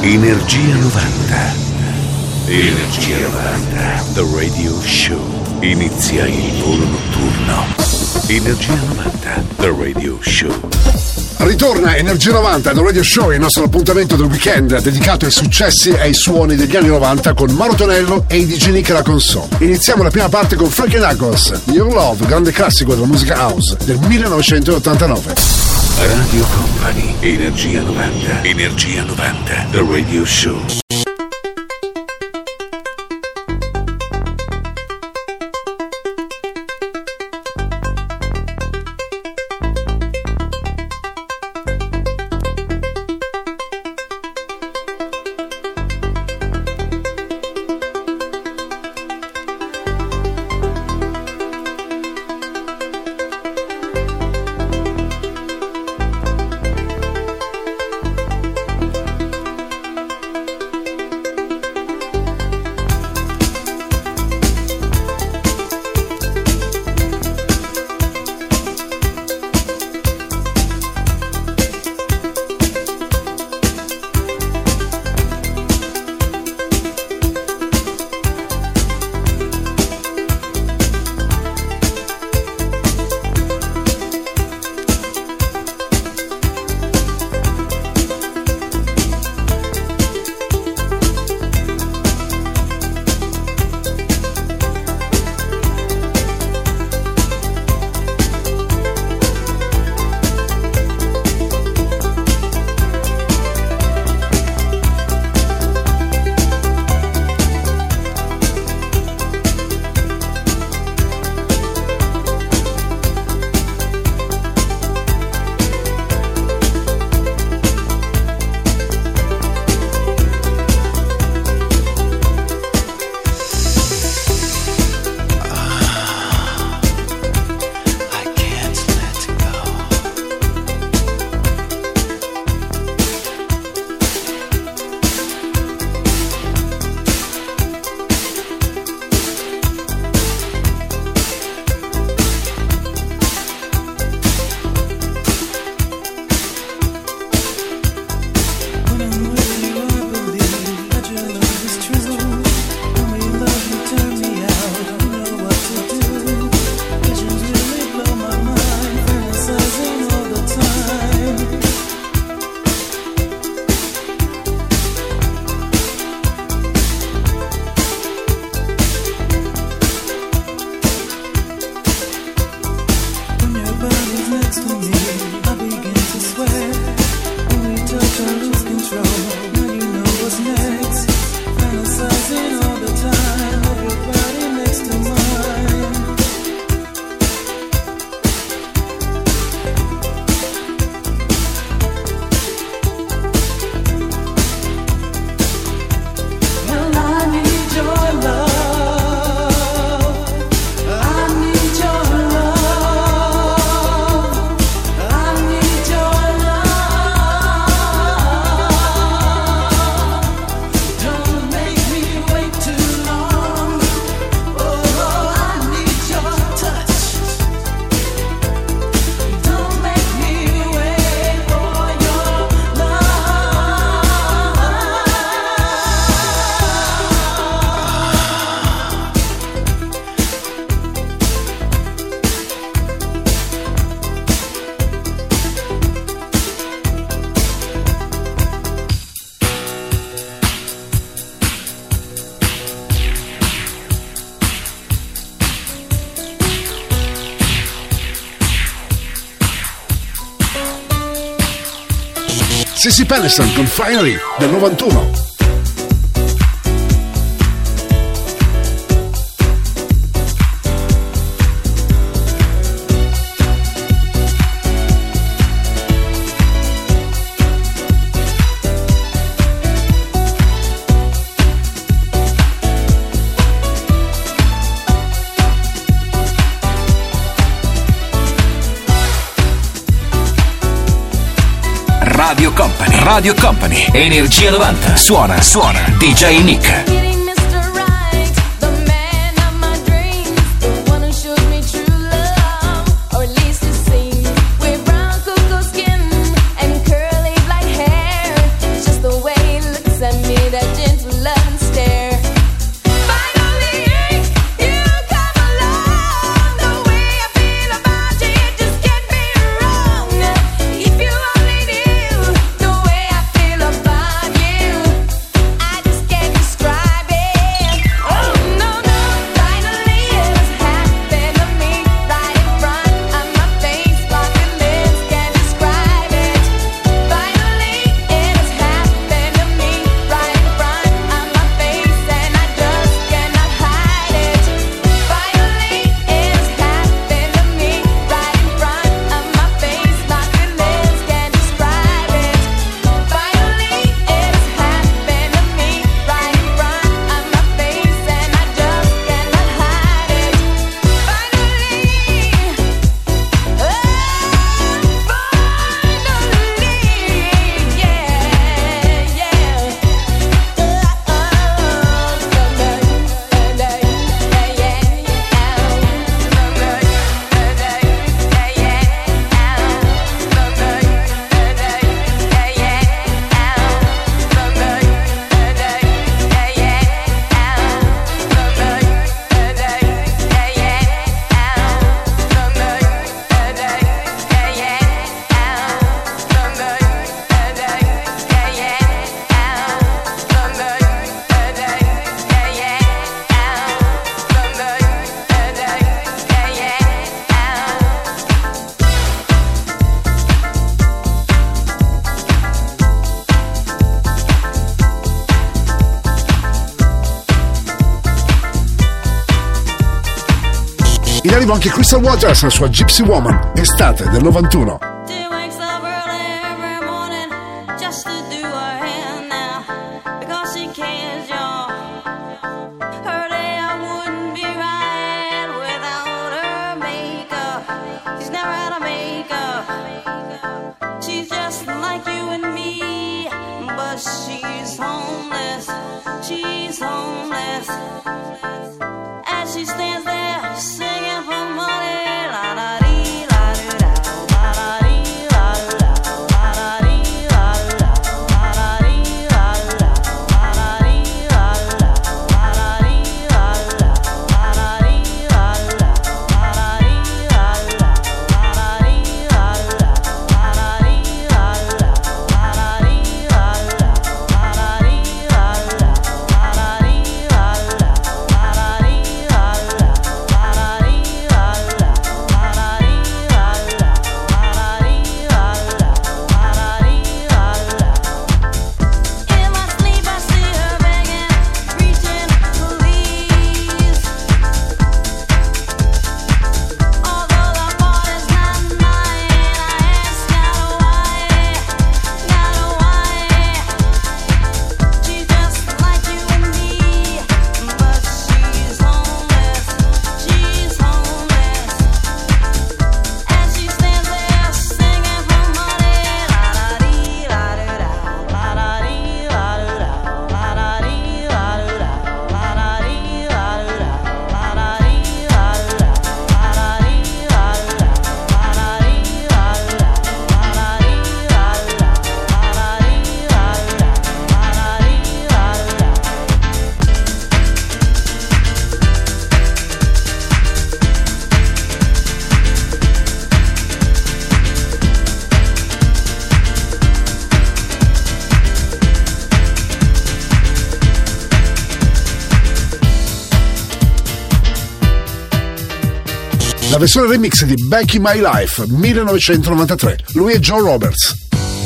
Energia 90. Energia 90. The Radio Show. Inizia il volo notturno. Energia 90. The Radio Show. Ritorna Energia 90 The Radio Show, il nostro appuntamento del weekend dedicato ai successi e ai suoni degli anni 90 con Mauro Tonello e i DJ Nick alla console. Iniziamo la prima parte con Frankie Knuckles, Your Love, grande classico della musica house del 1989. Radio Company, Energia 90. Energia 90 The Radio Show. Sissy Peniston con Finally del 91. Radio Company, Energia 90, suona DJ Nick. Just the way it looks arrivo anche Crystal Waters, la sua Gypsy Woman, estate del 91. La versione remix di Back in My Life 1993. Lui è Joe Roberts.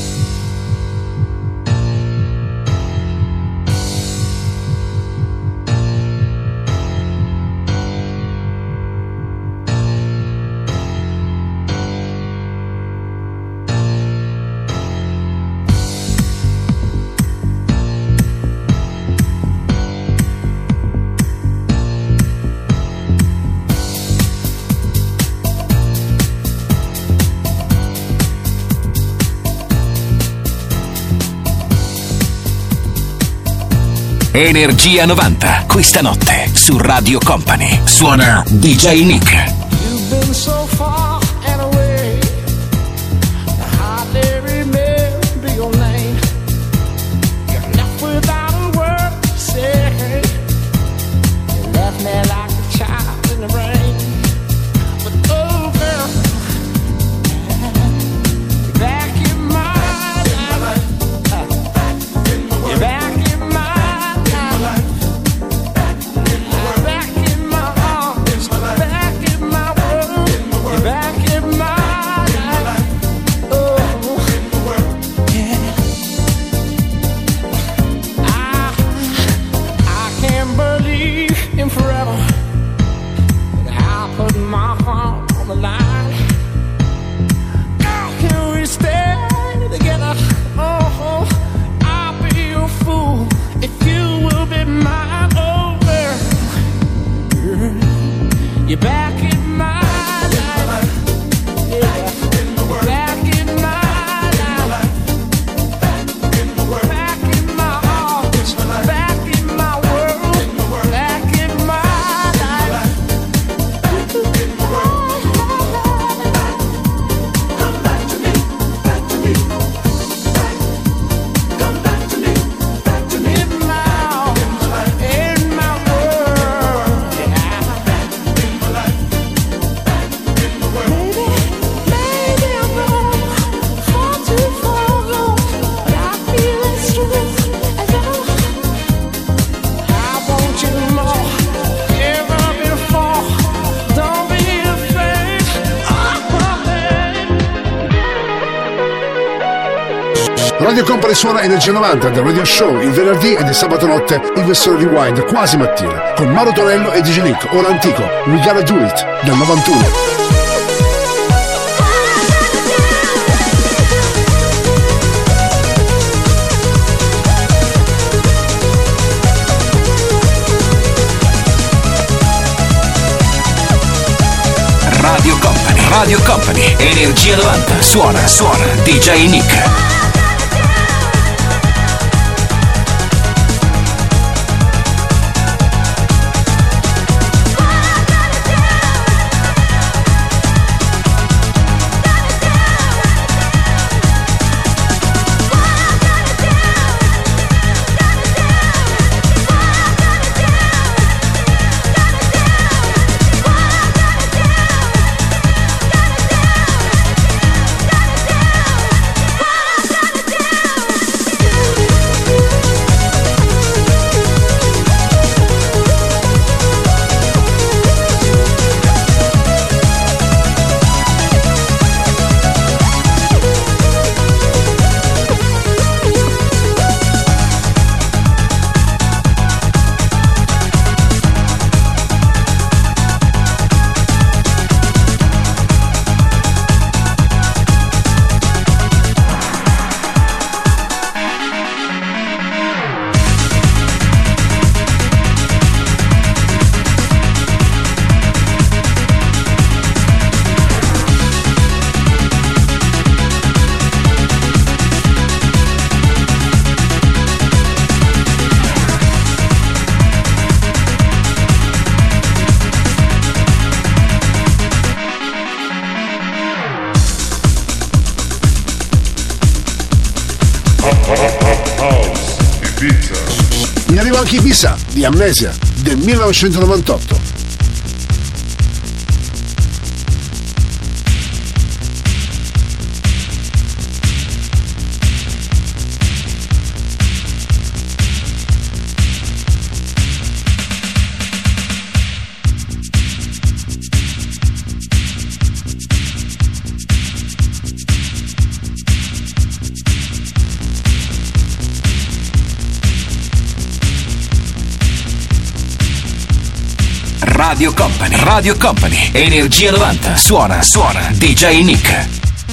Energia 90, questa notte su Radio Company. Suona DJ Nick. You've been so far and away, I hardly remember your name. You're left without a word to say. You left me like a child in the rain. But oh girl, you're back in my life. You're back in my back in my arms, back in my world, you're back. Radio Company suona Energia 90 del Radio Show il venerdì ed il sabato notte in versione rewind quasi mattina con Mauro Tonello e DJ Nick. Ora antico, We Gotta Do It del 91. Radio Company, Energia 90, suona DJ Nick. In arrivo anche Ibiza di Amnesia del 1998. Radio Company, Energia 90, suona DJ Nick.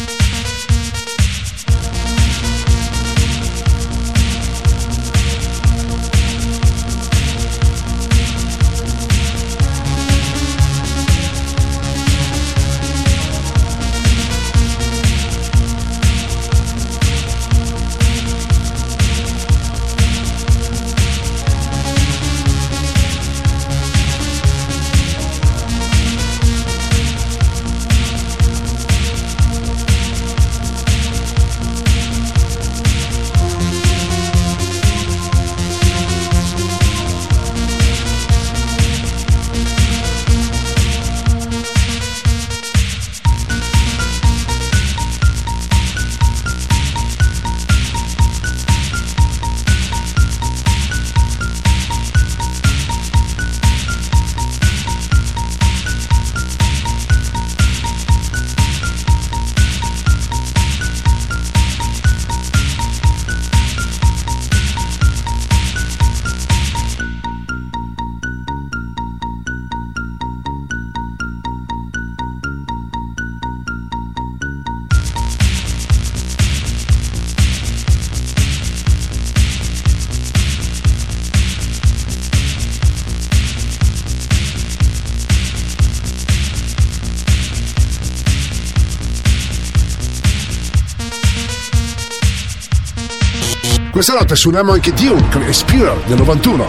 Questa notte suoniamo anche Dune con Explorer del 91.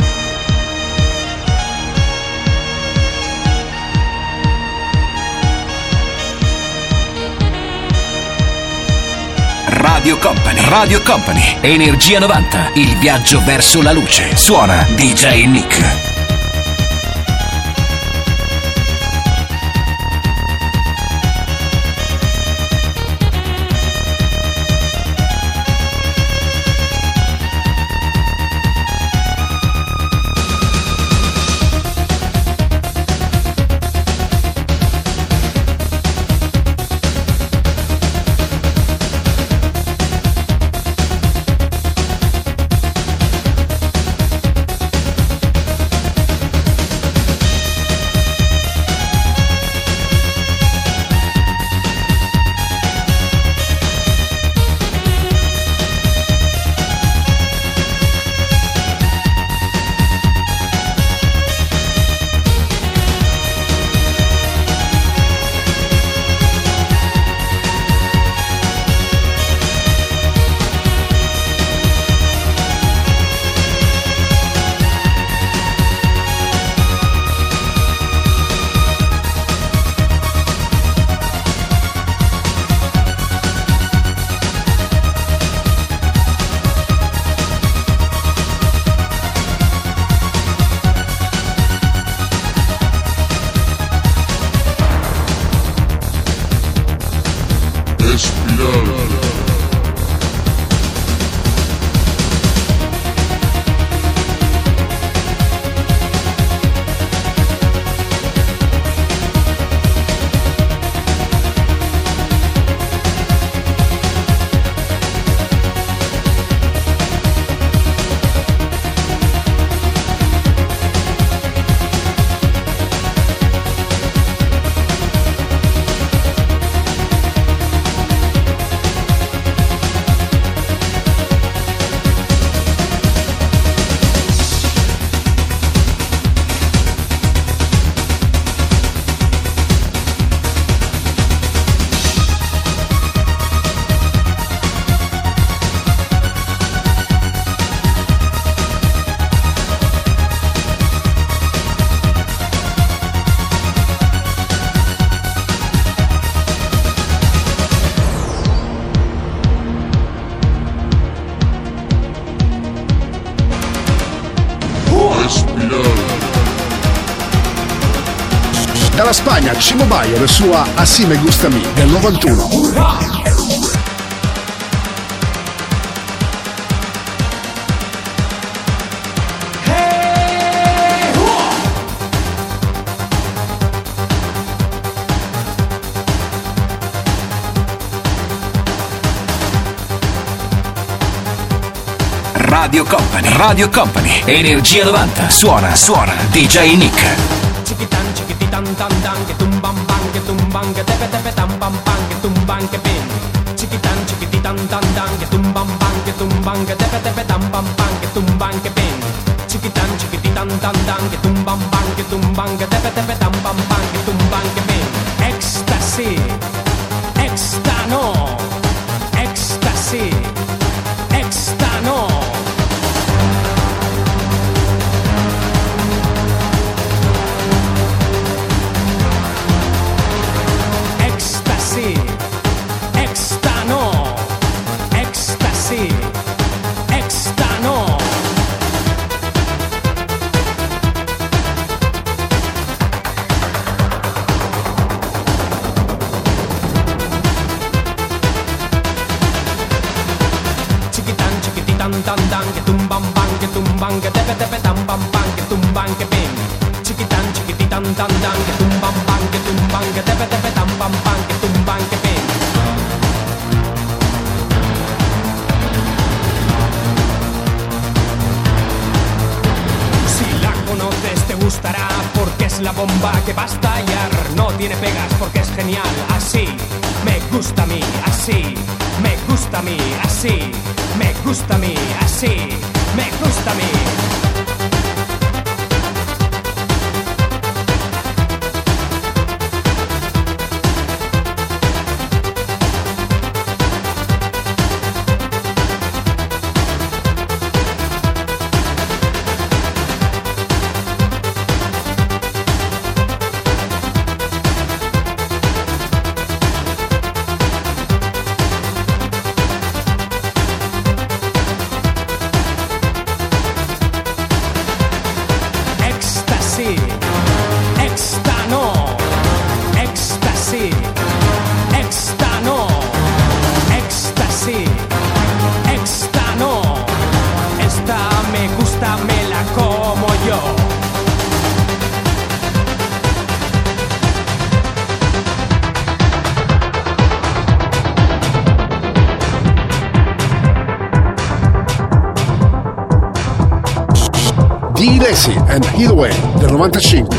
Radio Company, Energia 90, il viaggio verso la luce. Suona DJ Nick. Dalla Spagna, Chimo Bayo, la sua Así me gusta a mí del 91. Radio Company, Energia 90, suona, DJ Nick. Chiquitan, chiquititan, tan, tan, que tumban, ban, que tumban, que tepe, tepe, tan, pam, pam, que tumban, que pin. Chiquitan, chiquititan, tan, tan, que tumban, ban, que tumban, que tepe, tepe, tan, pam, pam, que tumban, que pin. Chiquitan, chiquititan, tan, tan, que tumban, ban, que tumban, que tepe, tepe, tan, pam, pam, que tumban, que pin. Ecstasy, extano, ecstasy, extano. Extano, ecstasy, extano. Chiquitan, chiquititan, tan, tan, que tumban, ban, que tumban, que tepe, tepe, tan, pam, pam, que tumban, que pin. Chiquitan, chiquititan, tan, tan, que tumban, ban, que tumban, que tepe, tepe, tan, pam, pam, que tumban, que pin. Te gustará porque es la bomba que va a estallar. No tiene pegas porque es genial. Así me gusta a mí, así me gusta a mí, así me gusta a mí, así me gusta a mí. Lacy and Either Way del 95.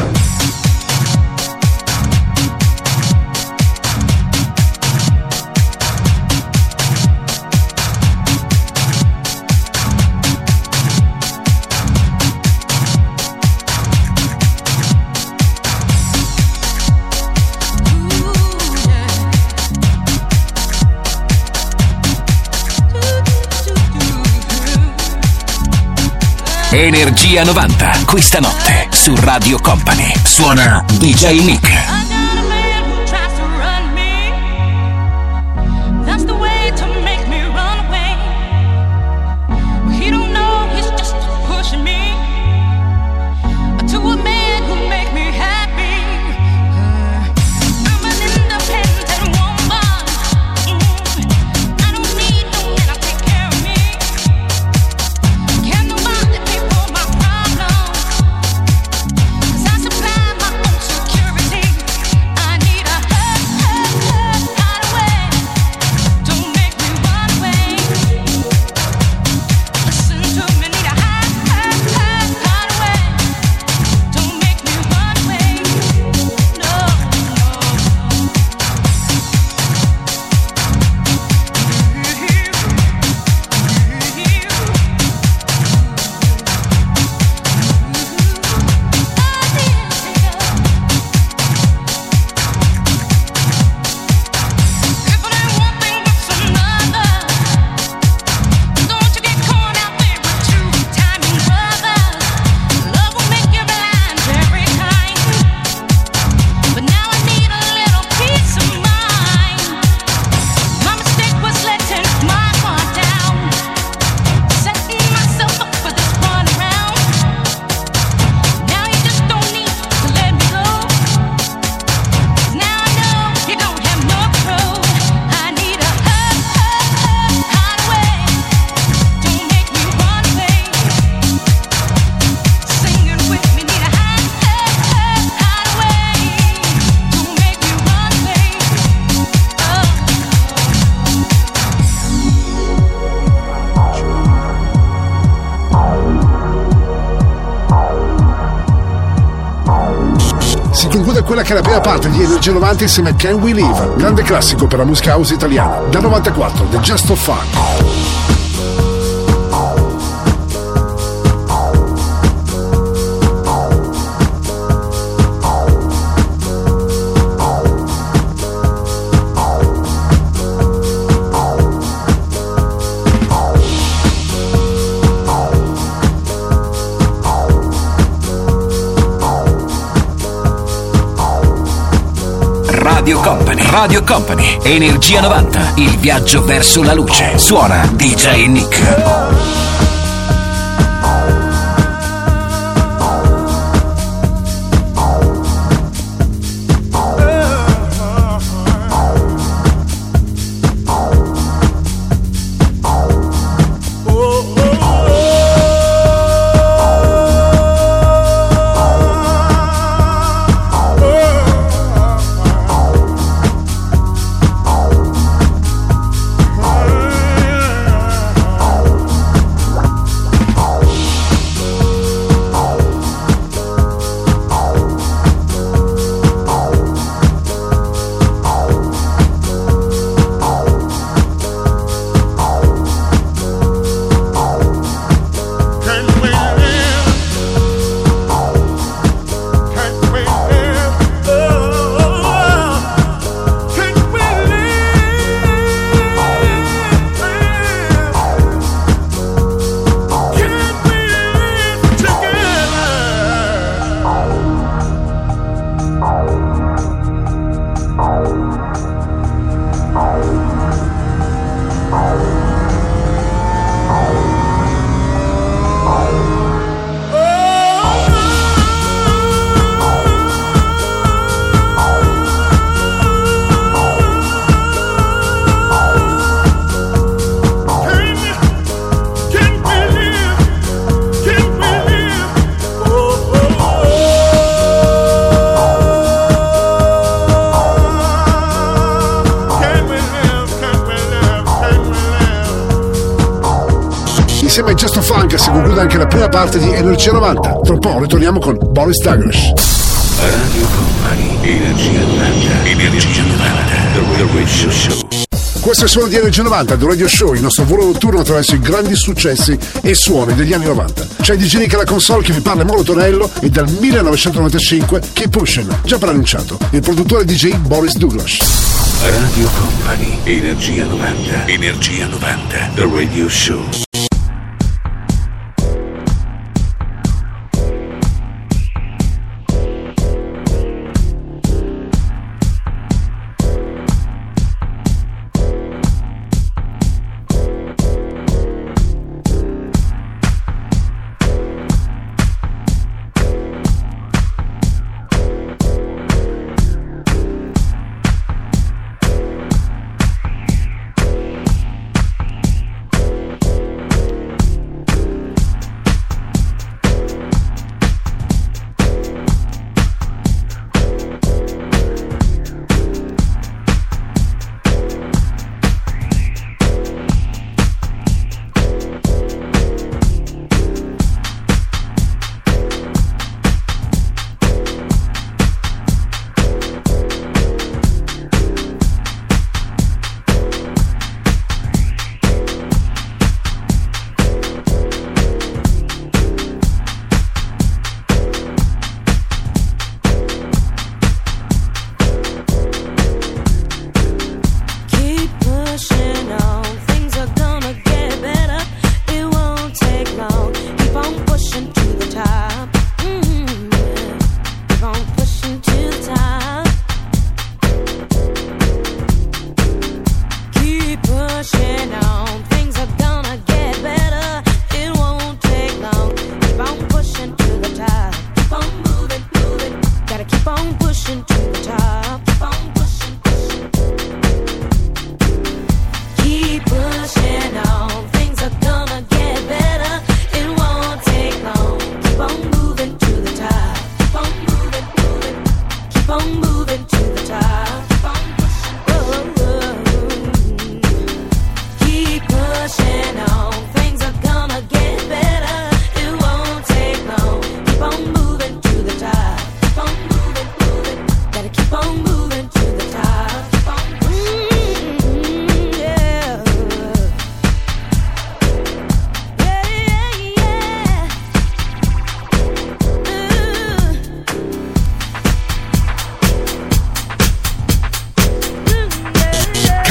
Energia 90, questa notte su Radio Company. Suona DJ Nick. I supply my own security. quella che è la prima parte di Energia 90 insieme a Can We Live, grande classico per la musica house italiana, dal 94, The Just for Fun. Radio Company, Energia 90, il viaggio verso la luce. Suona DJ Nick. Insieme a Just Funk si conclude anche la prima parte di Energia 90. Tra un po' ritorniamo con Boris Douglas. Radio Company, Energia 90, Energia 90, The Radio Show. Questo è il suono di Energia 90, The Radio Show, il nostro volo notturno attraverso i grandi successi e suoni degli anni 90. C'è DJ Nick alla console che vi parla Mauro Tonello e dal 1995 Keep Pushing, già preannunciato, il produttore DJ Boris Douglas. Radio Company, Energia 90, Energia 90, The Radio Show.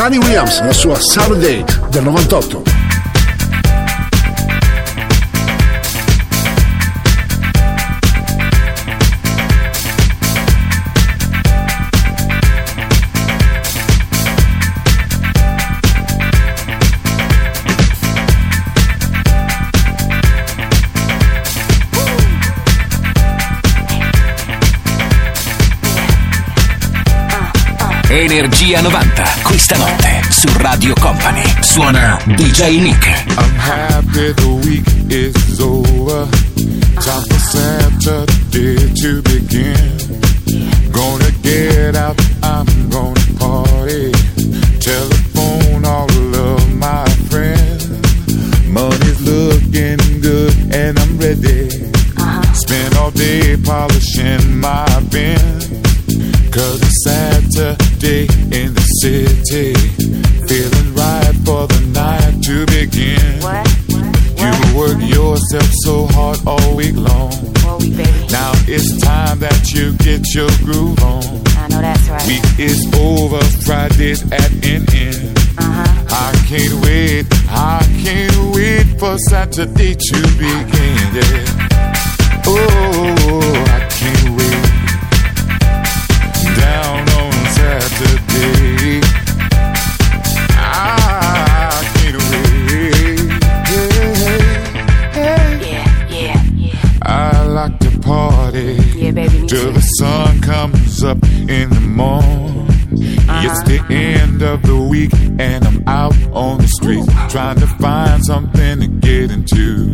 Annie Williams, la sua Saturday del 98. Energia 90, questa notte su Radio Company. Suona DJ Nick. I'm happy the week is over. Time for Saturday to begin. Gonna get out, I'm gonna party. Telephone all of my friends. Money's looking good and I'm ready. Spend all day polishing my bin. 'Cause it's Saturday in the city. Feeling right for the night to begin. You work yourself so hard all week long. Now it's time that you get your groove on. I know that's right. Week is over, Friday's at an end. I can't wait for Saturday to begin. Yeah. Oh, I can't wait. Down on Saturday, I can't wait. Yeah. I like to party baby, me till too. the sun comes up in the morning. It's the end of the week and I'm out on the street trying to find something to get into.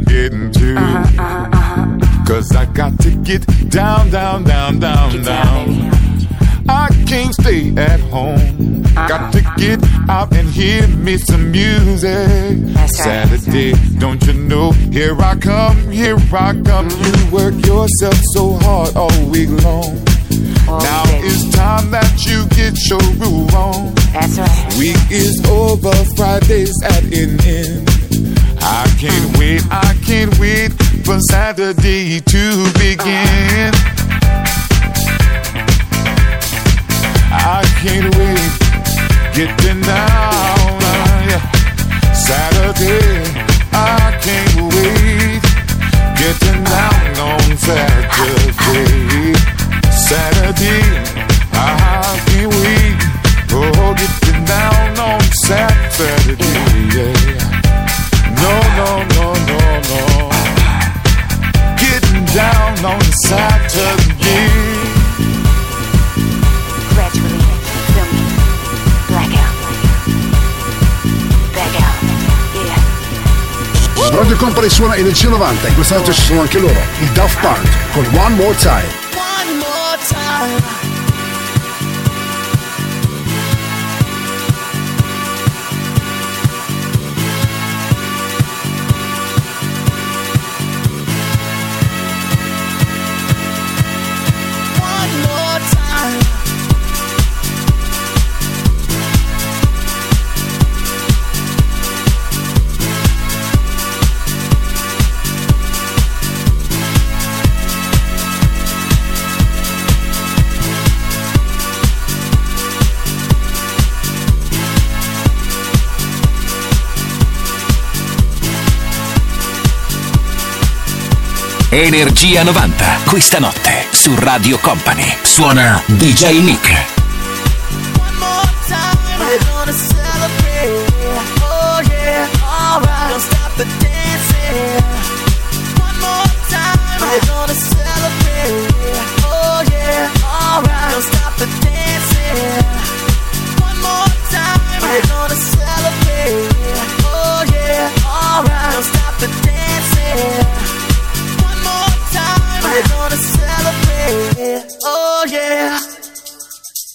'Cause I got to get down. Baby. I can't stay at home. Got to get out and hear me some music. That's right. Saturday, don't you know? Here I come. You work yourself so hard all week long. Now baby. it's time that you get your groove on. That's right. Week is over, Friday's at an end. I can't wait for Saturday to begin. I can't wait, getting down, yeah. Saturday, I can't wait, getting down on Saturday. Saturday, I can't wait, oh, getting down on Saturday, yeah. No, getting down on Saturday. Gradually, feel me, blackout, back out, yeah. Radio Company suona Energia 90 e questa notte ci sono anche loro, i Daft Punk con One More Time. One more time. Energia 90, questa notte su Radio Company. Suona DJ Nick. One more time, we're gonna celebrate. Oh yeah, alright. Don't stop the dancing. One more time, we're gonna celebrate. Oh yeah, alright. Don't stop the dancing. One more time, we're gonna celebrate. Oh yeah, alright. Don't stop the dancing. One more time, we're gonna celebrate. Oh yeah.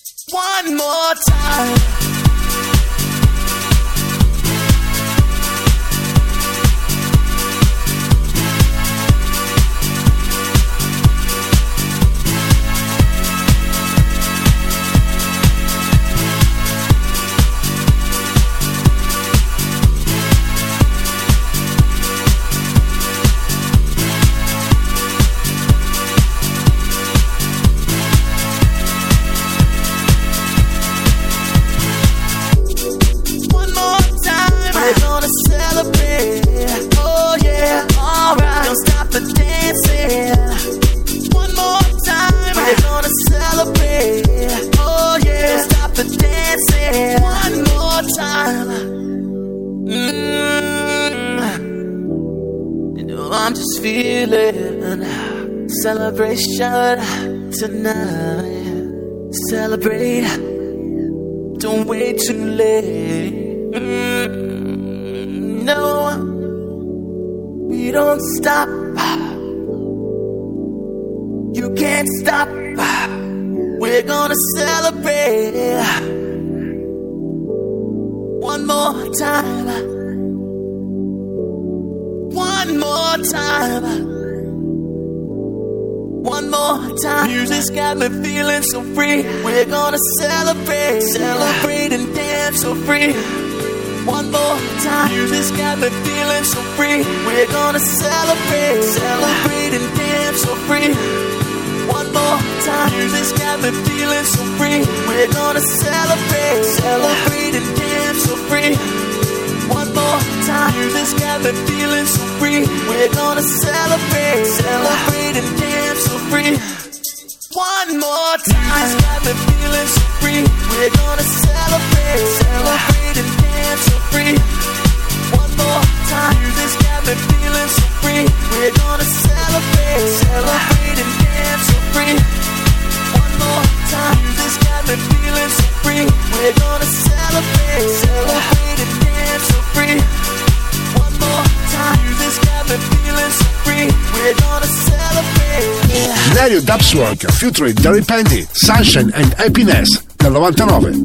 I'm just feeling celebration tonight. Celebrate, don't wait too late. No, we don't stop. You can't stop. We're gonna celebrate one more time. One more time. One more time. Music's got me feeling so free. We're gonna celebrate, celebrate and dance so free. One more time. Music's got me feeling so free. We're gonna celebrate, celebrate and dance so free. One more time. Music's got me feeling so free. We're gonna celebrate, celebrate and dance so free. One more time. Music's got me feeling so free. We're gonna celebrate, celebrate and dance so free. One more time. Music's got me feeling so free. We're gonna celebrate, celebrate and dance so free. One more time. Music's got me feeling so free. We're gonna celebrate, celebrate and dance so free. One more time. Music's got me feeling so free. We're gonna celebrate, celebrate and dance so free. One more time. Music's got me feeling so free. We're gonna celebrate. Dario Dubswork featuring Derry Pendy, Sunshine and Happiness del 99.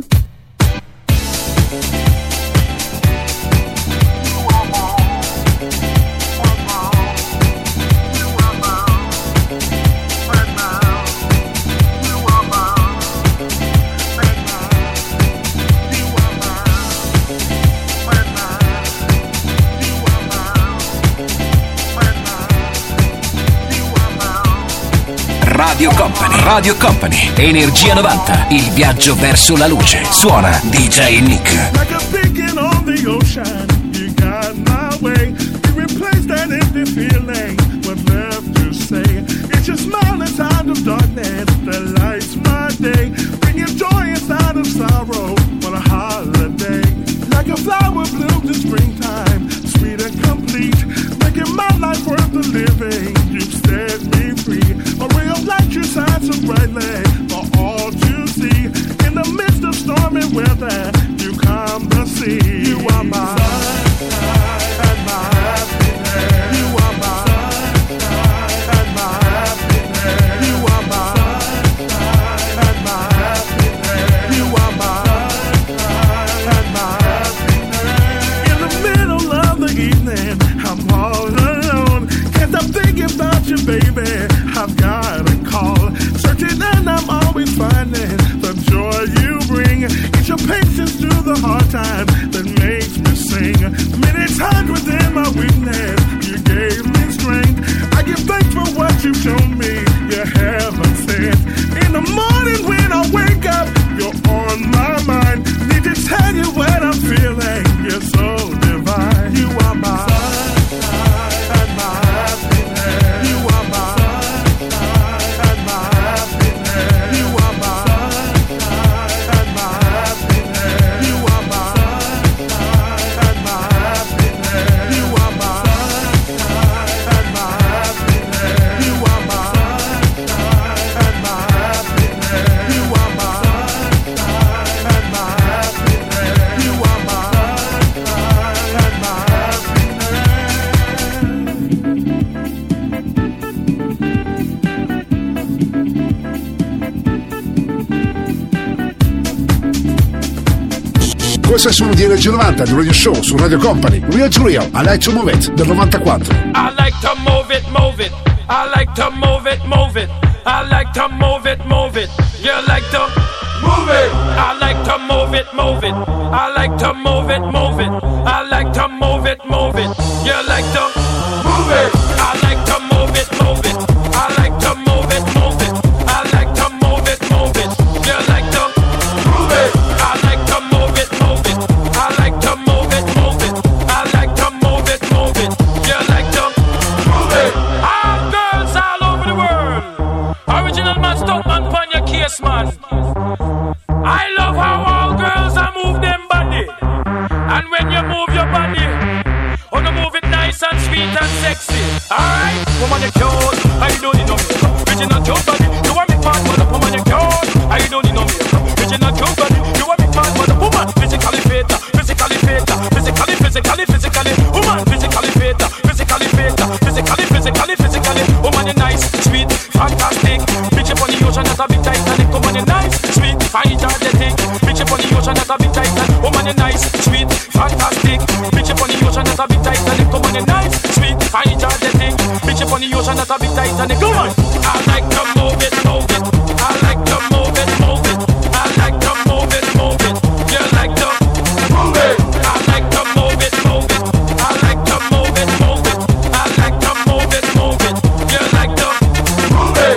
Radio Company, Energia 90, il viaggio verso la luce. Suona DJ Nick. Like a beacon on the ocean, you got my way. You replaced that empty feeling, what's left to say? It's your smile inside of darkness that lights my day, bringing joy inside of sorrow on a holiday. Like a flower blooms in springtime, sweet and complete, making my life worth the living. You've set me free, a ray of light you shine so brightly for all to see. In the midst of stormy weather, you calm the sea. You are my sunshine and my happiness. You are my sunshine and my happiness. You are my sunshine and my happiness. You are my sunshine and my happiness. In the middle of the evening, I'm all alone. Can't stop thinking about you, baby. I've got a call, searching and I'm always finding the joy you bring. It's your patience through the hard times that makes me sing. Many times within my weakness, you gave me strength. I give thanks for what you've shown me, you haven't said. In the morning when I wake up, you're on my mind. Need to tell you what I'm feeling, you're so divine. You are my sunshine and my happiness. You are my Questo è il suono di Energia 90 del Radio Show su Radio Company. Real to Real, I Like to Move It del 94. I like to move it, move it. I like to move it, move it. I like to move it, move it. You like to move it. I like to move it, move it. I like to move it, move it. I like to move it, move it. You like to move it. I like to move it, move it. I like to move it, move it. I like to move it, move it. You like to move it. I like to move it, move it. I like to move it, move it. I like to move it, move it. You like to move it. All girls all over the world. Original man, stop man, pon your case, man. I love how all girls are move them body. And when you move your body, on the move sweet and sexy. Alright, woman you cute, I don't need no makeup. Original cute body, you want me part for the woman you cute, I don't need no makeup. Original cute body, you want me part for the woman. Physically fit, physically fit, physically. Woman, physically fit, physically. Woman you nice, sweet, fantastic. Bitch up on the ocean, that's a big Titanic. Woman you nice, sweet, fine, energetic. Bitch up on the ocean, that's a big Titanic. Woman you nice, sweet, fantastic. Bitch up on the ocean, that's a big Titanic. Woman you nice, sweet, fine, energetic. Bitch up on the ocean, that's a big Titanic. Come on, I like to move it. I like to move it. I like to move it. You like to move it. I like to move it. I like to move it. I like to move it. You like to move it.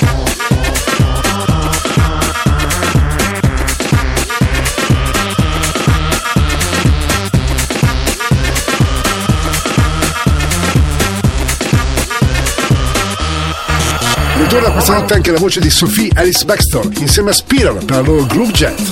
Ritorna questa notte anche la voce di Sophie Alice Baxter insieme a Spiral per la loro Groove Jet.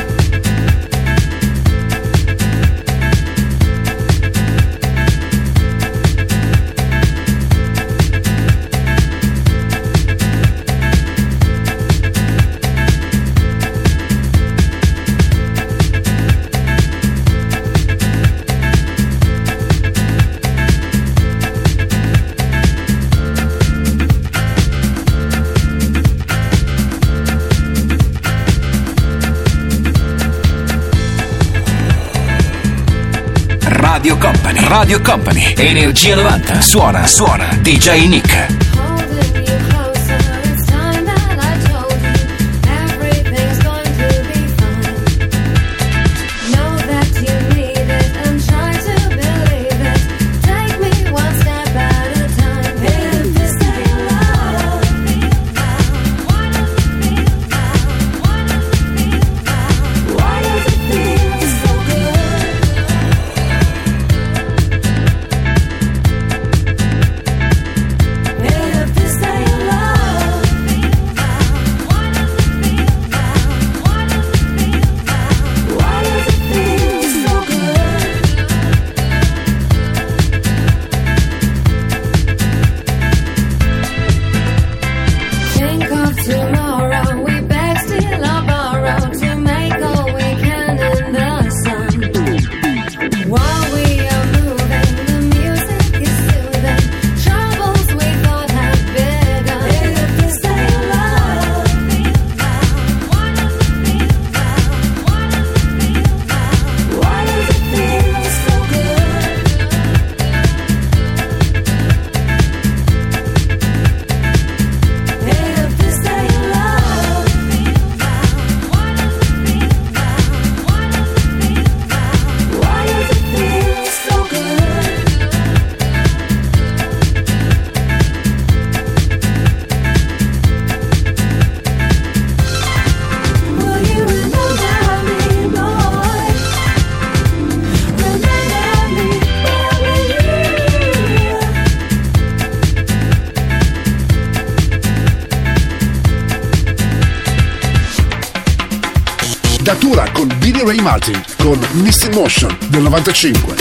Radio Company, Energia 90, suona DJ Nick. Datura con Billy Ray Martin con Missing Motion del 95.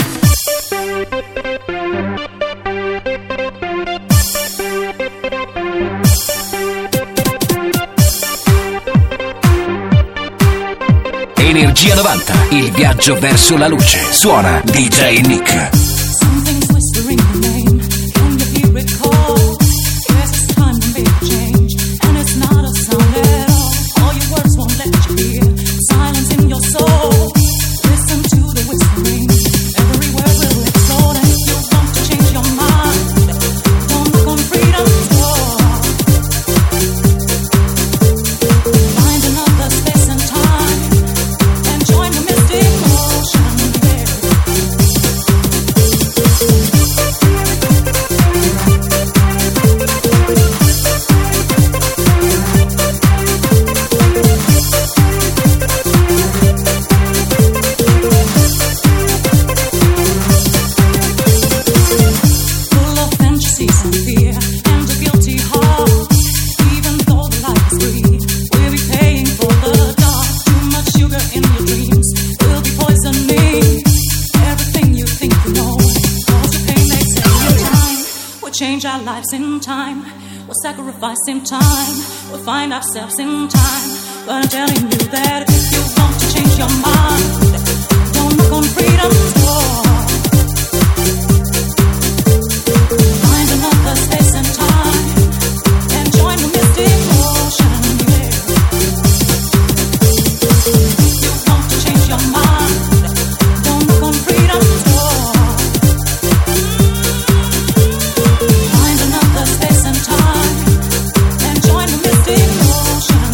Energia 90, il viaggio verso la luce. Suona DJ Nick. Join the mystic motion. change our lives in time. We'll sacrifice in time. We'll find ourselves in time. But I'm telling you that if you want to change your mind, don't knock on freedom's door. Find another space and time and join the mystic ocean. If you want to change your mind, don't knock on freedom's door. Find another space and time and join the mystic ocean.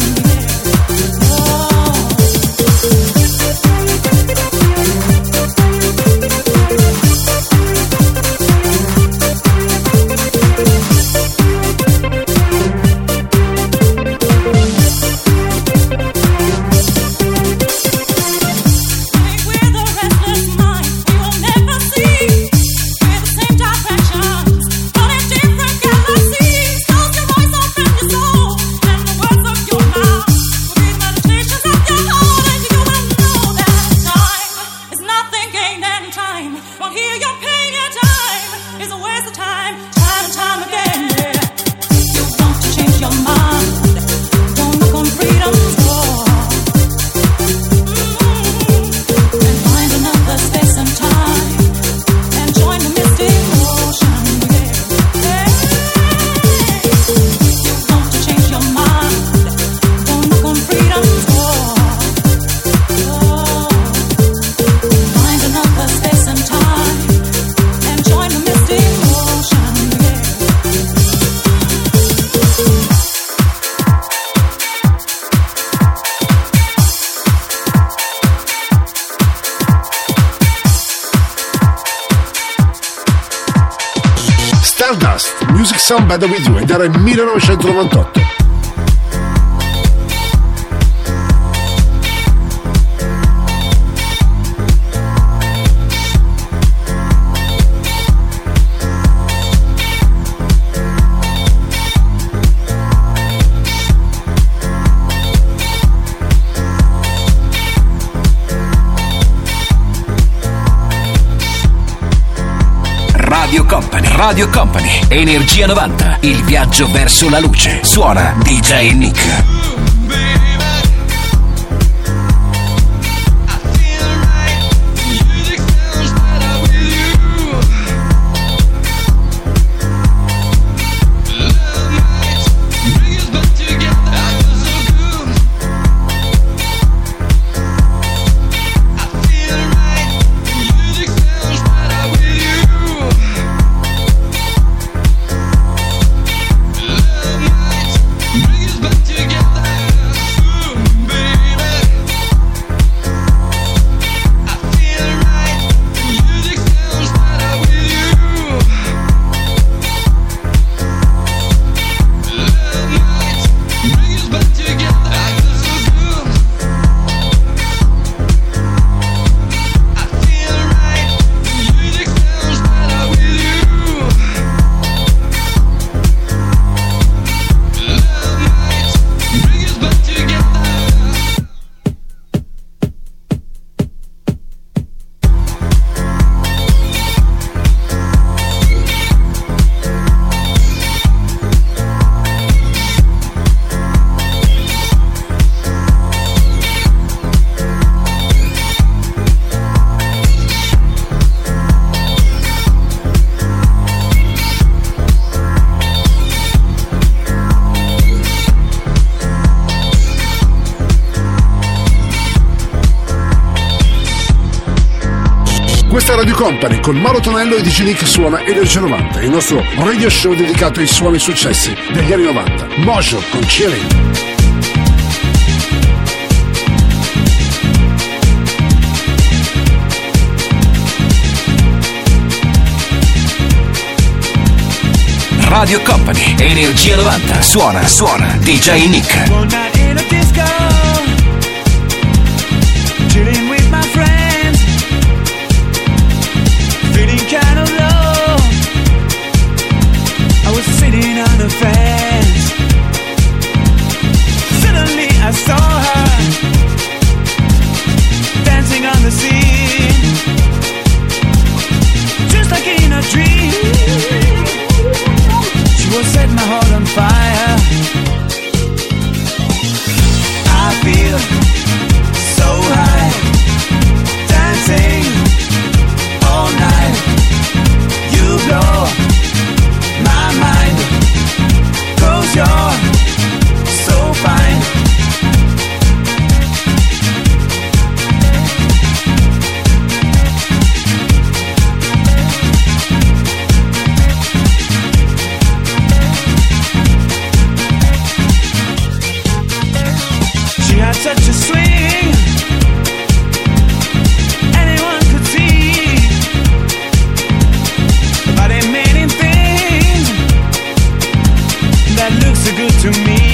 Music Sound Better With You, ed era il 1998. Radio Company, Energia 90, il viaggio verso la luce. Suona DJ Nick. Questa è Radio Company con Mauro Tonello e DJ Nick suona Energia 90, il nostro radio show dedicato ai suoni successi degli anni 90. Mojo con Chilling. Radio Company, Energia 90, suona DJ Nick. One night in a disco, chilling with my friends, feeling kind of low. I was sitting on the fence. Suddenly I saw her dancing on the scene, just like in a dream. such a swing. Anyone could see. But there are many things that look so good to me.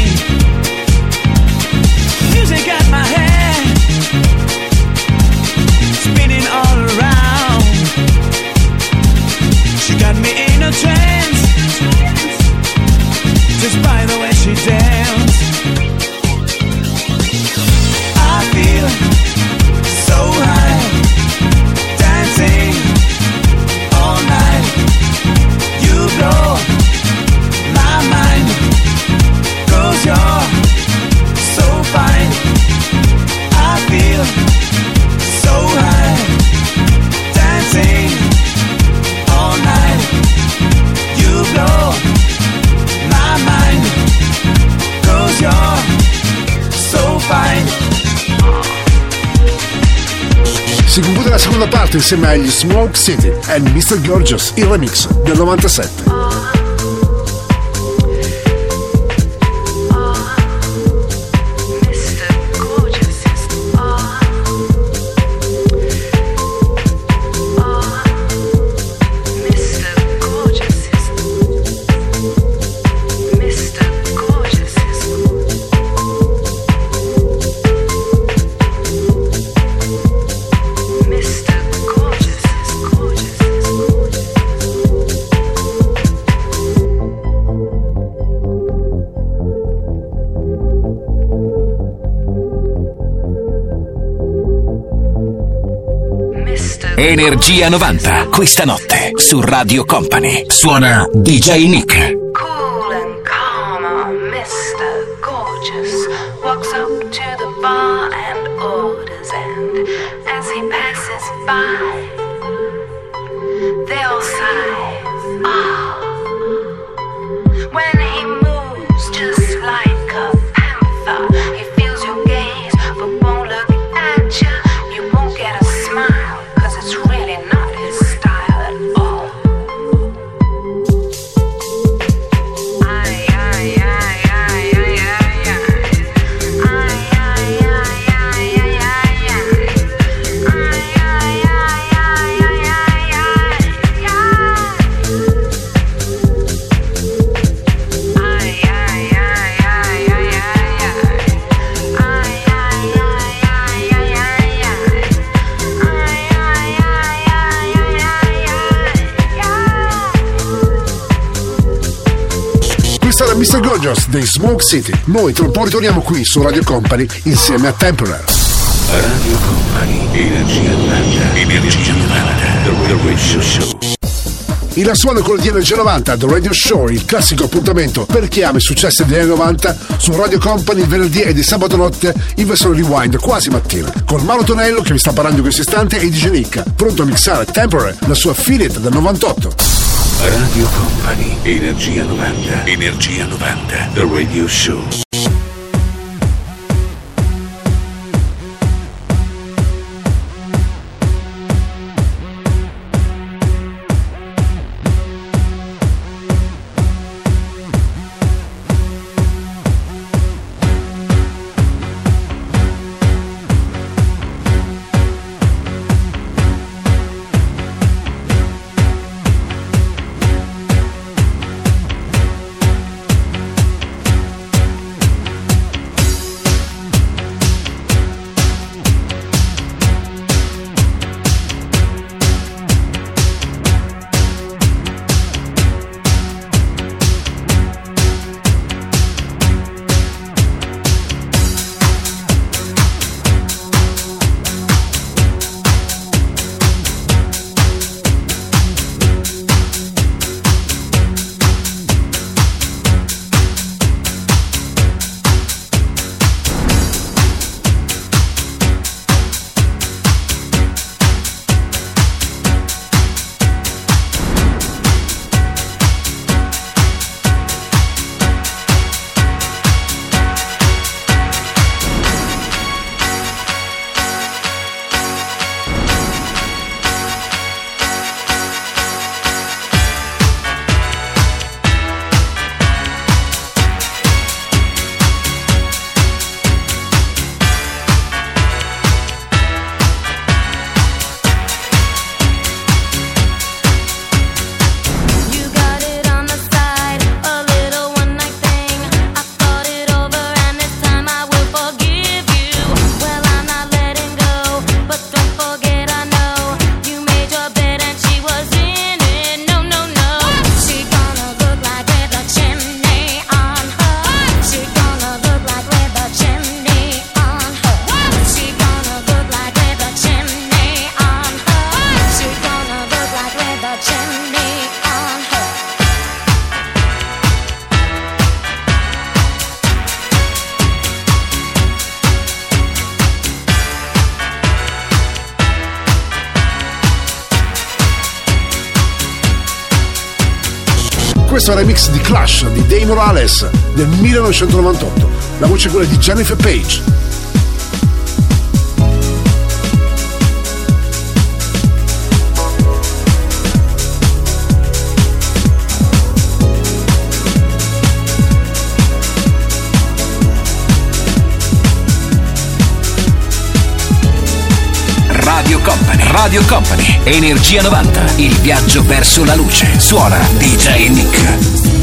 Music got my head spinning all around. She got me in a trance just by the way she danced. I feel so high, dancing all night. You blow my mind, 'cause you're so fine. I feel so high, dancing all night. You blow my mind, 'cause you're so fine. Si conclude la seconda parte insieme agli Smoke City e Mr. Gorgeous, il remix del 97. Energia 90, questa notte su Radio Company. Suona DJ Nick. Cool and calm, Mr. Gorgeous walks up to the bar and orders, and as he passes by, they all sigh. Ah, when he moves just like a panther, he feels your gaze but won't look at you. You won't get a smile, 'cause it's really not his style at all. Questa era Mr. Gorgeous dei Smoke City. Noi tra un po' ritorniamo qui su Radio Company insieme a Temporary. Radio Company, Energia 90, Energia 90, The Radio Show. Il suono con di Energia 90, The Radio Show, il classico appuntamento per chi ama i successi degli anni 90 su Radio Company il venerdì e di sabato notte in versione rewind quasi mattina, con Mauro Tonello che vi sta parlando in questo istante e DJ Nick, pronto a mixare Temporary, la sua affiliate del 98. Radio Company, Energia 90, Energia 90, The Radio Show. questo è il remix di Clash di Dave Morales del 1998. La voce è quella di Jennifer Page. Radio Company, Energia 90, il viaggio verso la luce. Suona DJ Nick.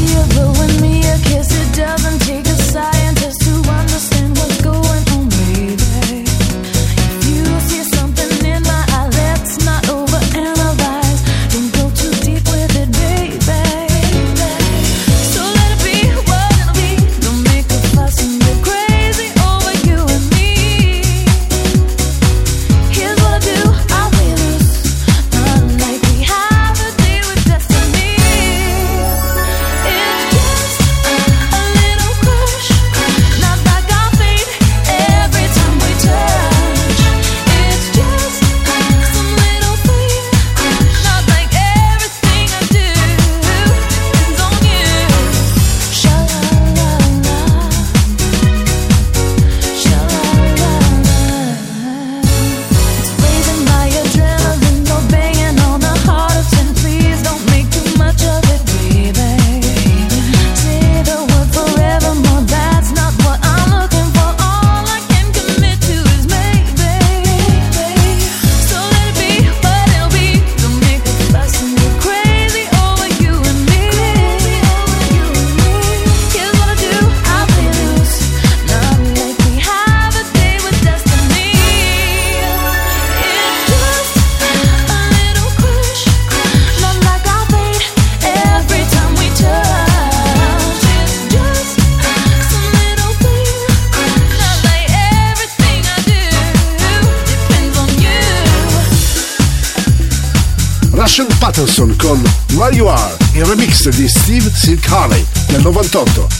Patterson con Where You Are, il remix di Steve Silk Harley del 98.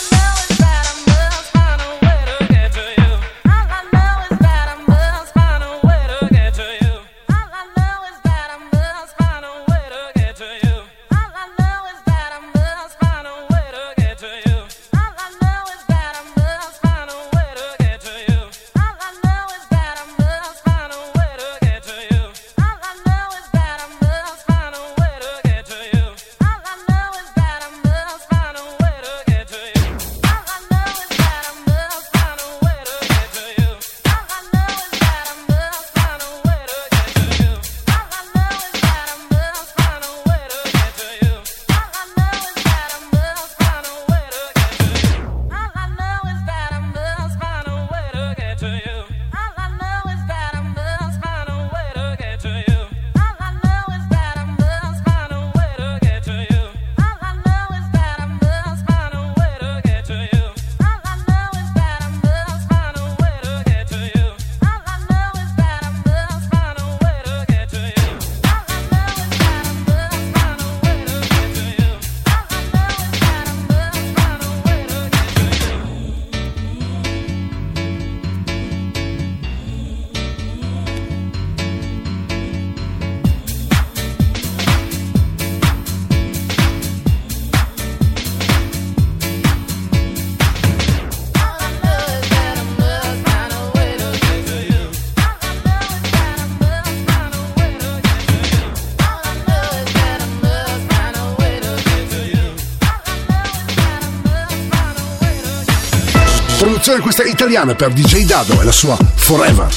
Produzione questa italiana per DJ Dado e la sua Forever.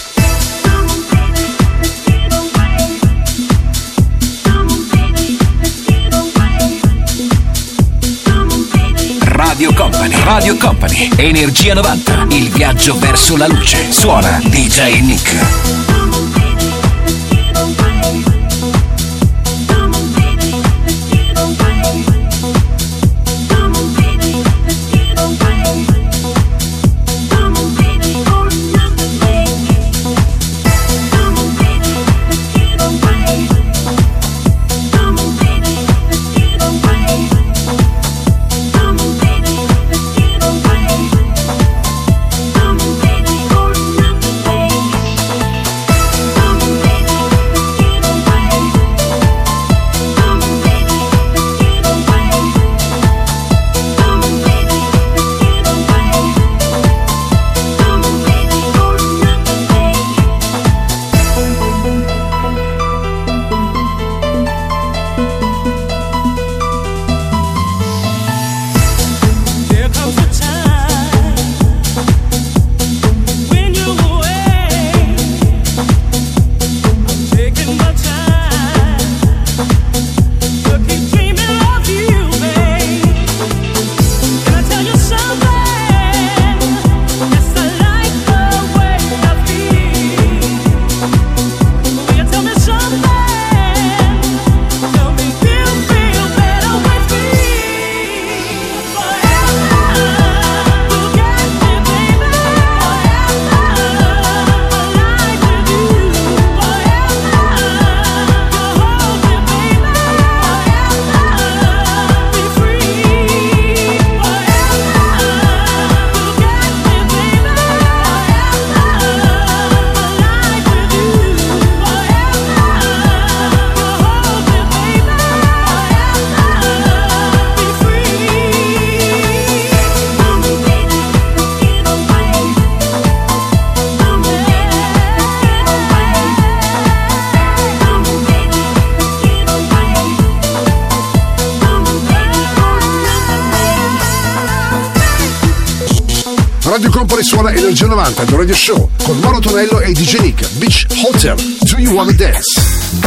Radio Company, Energia 90, il viaggio verso la luce. Suona DJ Nick. Radio Company suona Energia 90 The Radio Show con Mauro Tonello e DJ Nick. Beach Hotel, Do You Wanna Dance?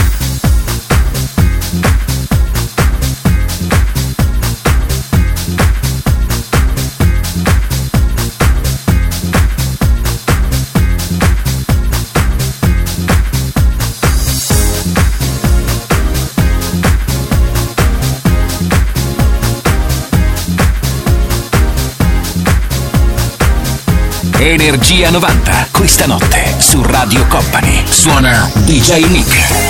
Energia 90, questa notte su Radio Company. Suona DJ Nick.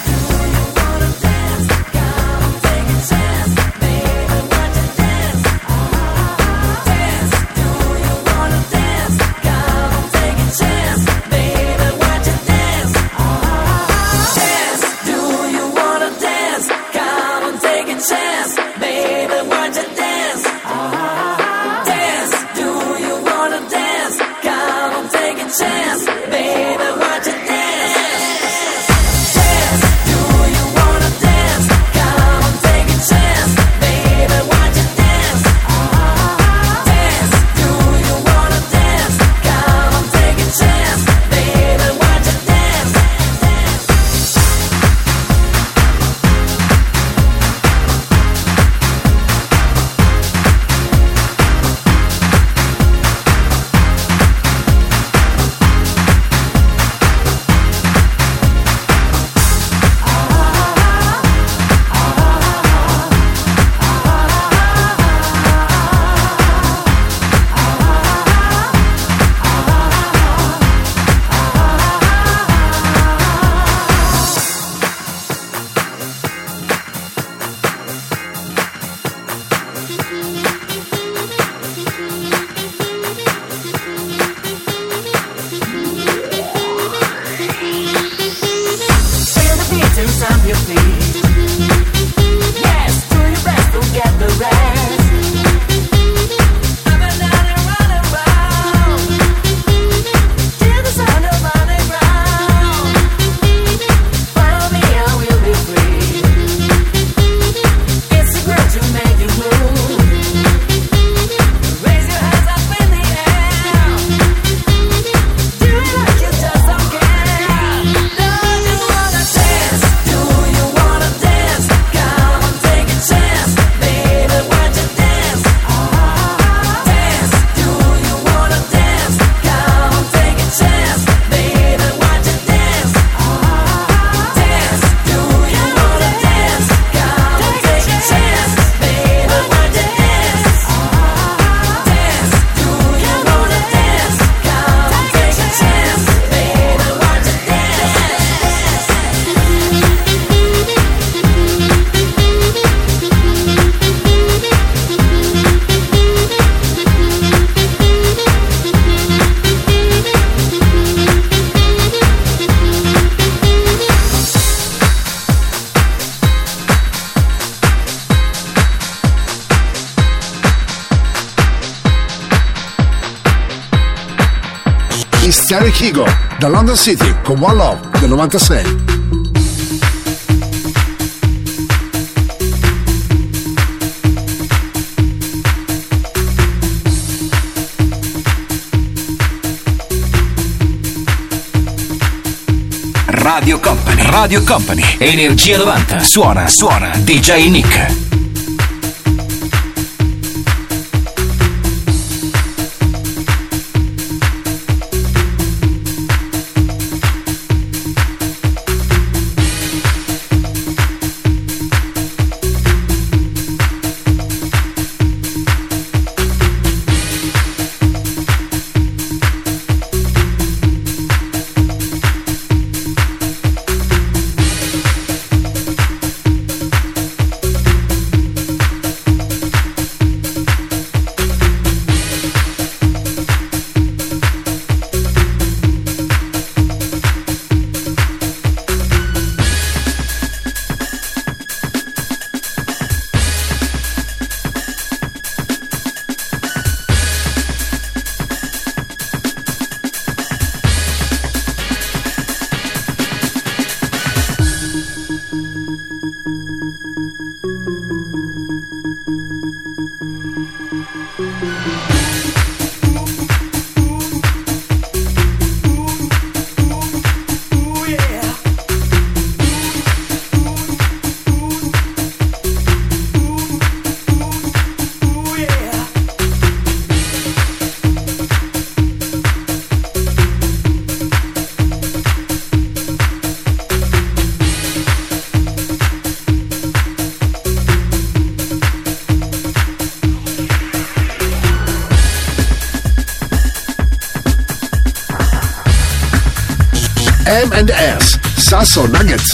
Stereo Kigo da London City con One Love del 96. Radio Company, Energia 90, suona DJ Nick. M&S, Sasso Nuggets.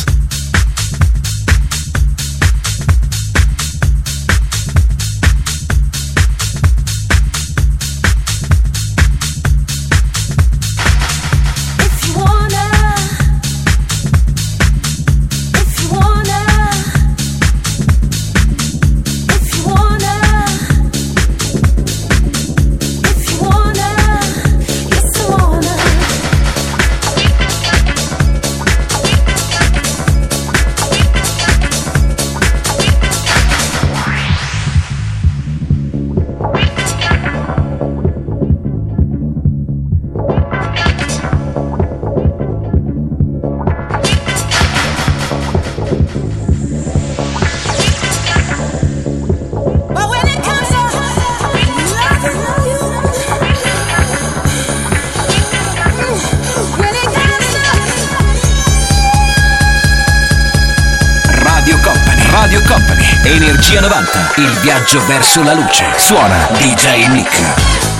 Energia 90, il viaggio verso la luce. Suona DJ Nick.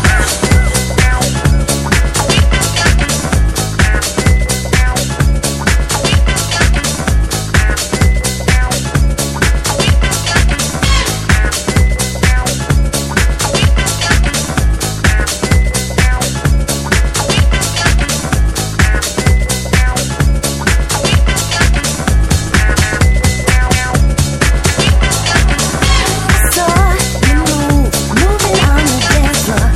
Moving on the dance floor.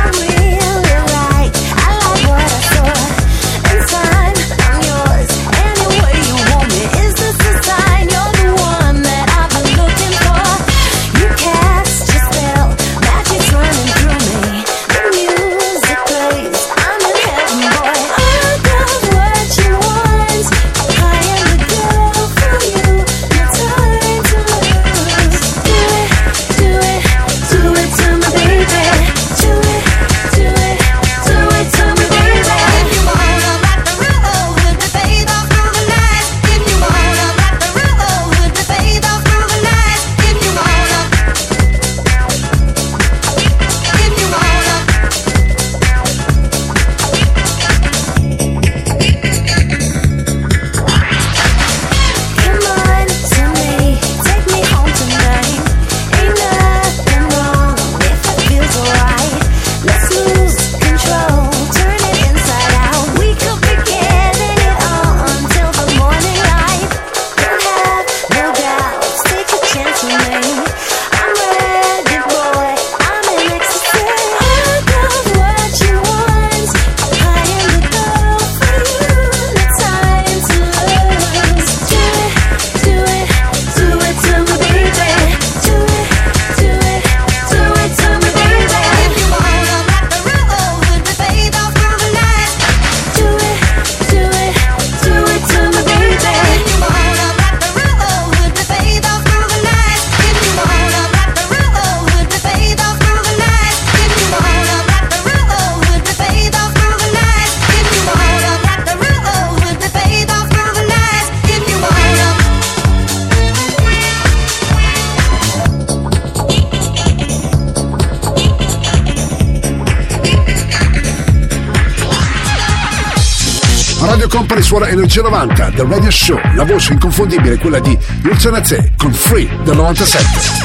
Radio Company suona Energia 90 del Radio Show. La voce inconfondibile è quella di Luciana Z con Free del 97.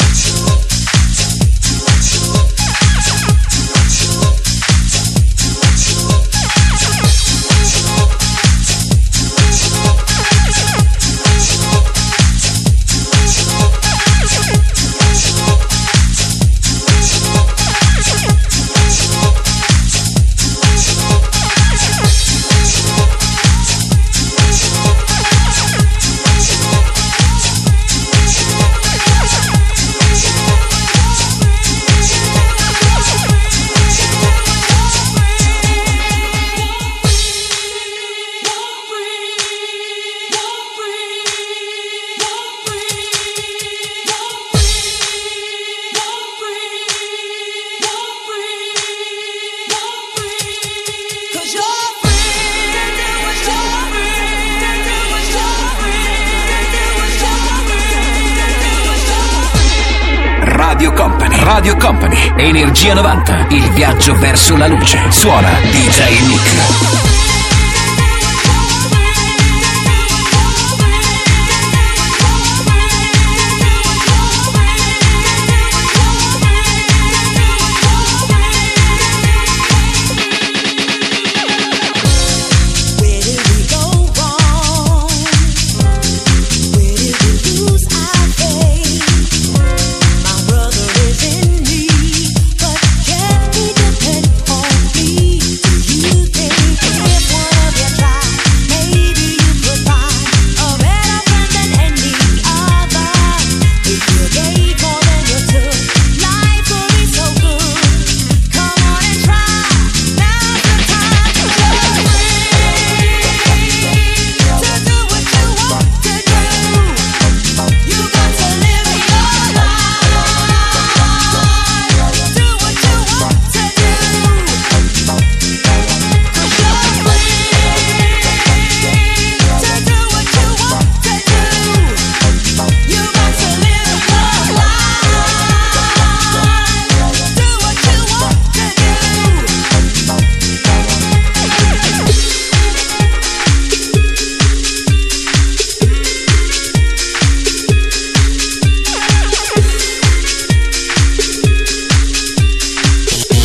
Radio Company, Energia 90, il viaggio verso la luce. Suona DJ Nick.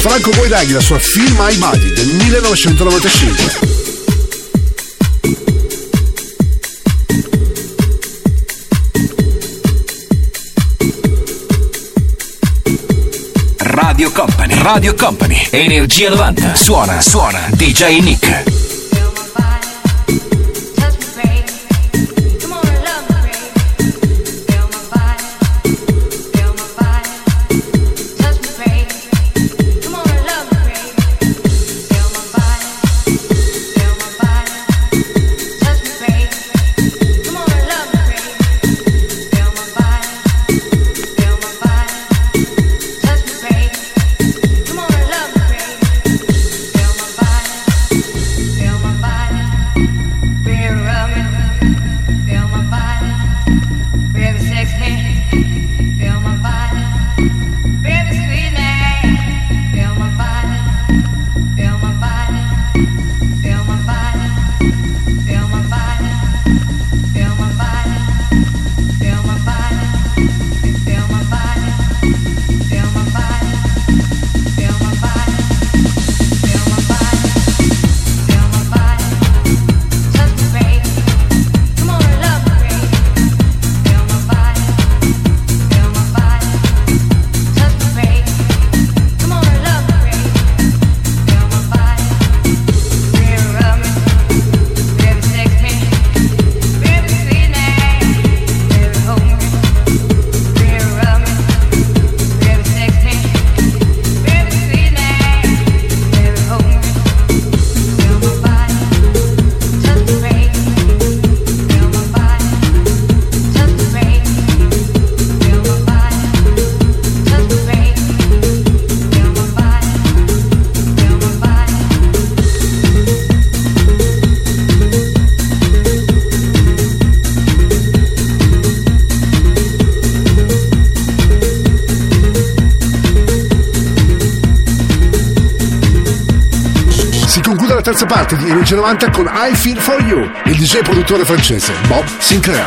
Franco Boiraghi, la sua Feel My Body del 1995. Radio Company, Energia 90, suona DJ Nick. Terza parte di Energia 90 con I Feel For You, il DJ produttore francese Bob Sinclair.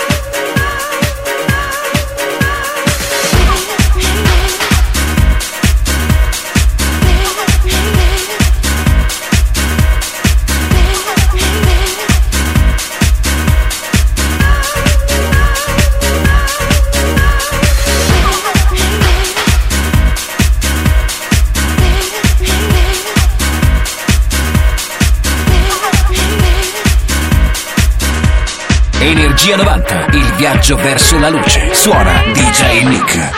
Energia 90, il viaggio verso la luce. Suona DJ Nick.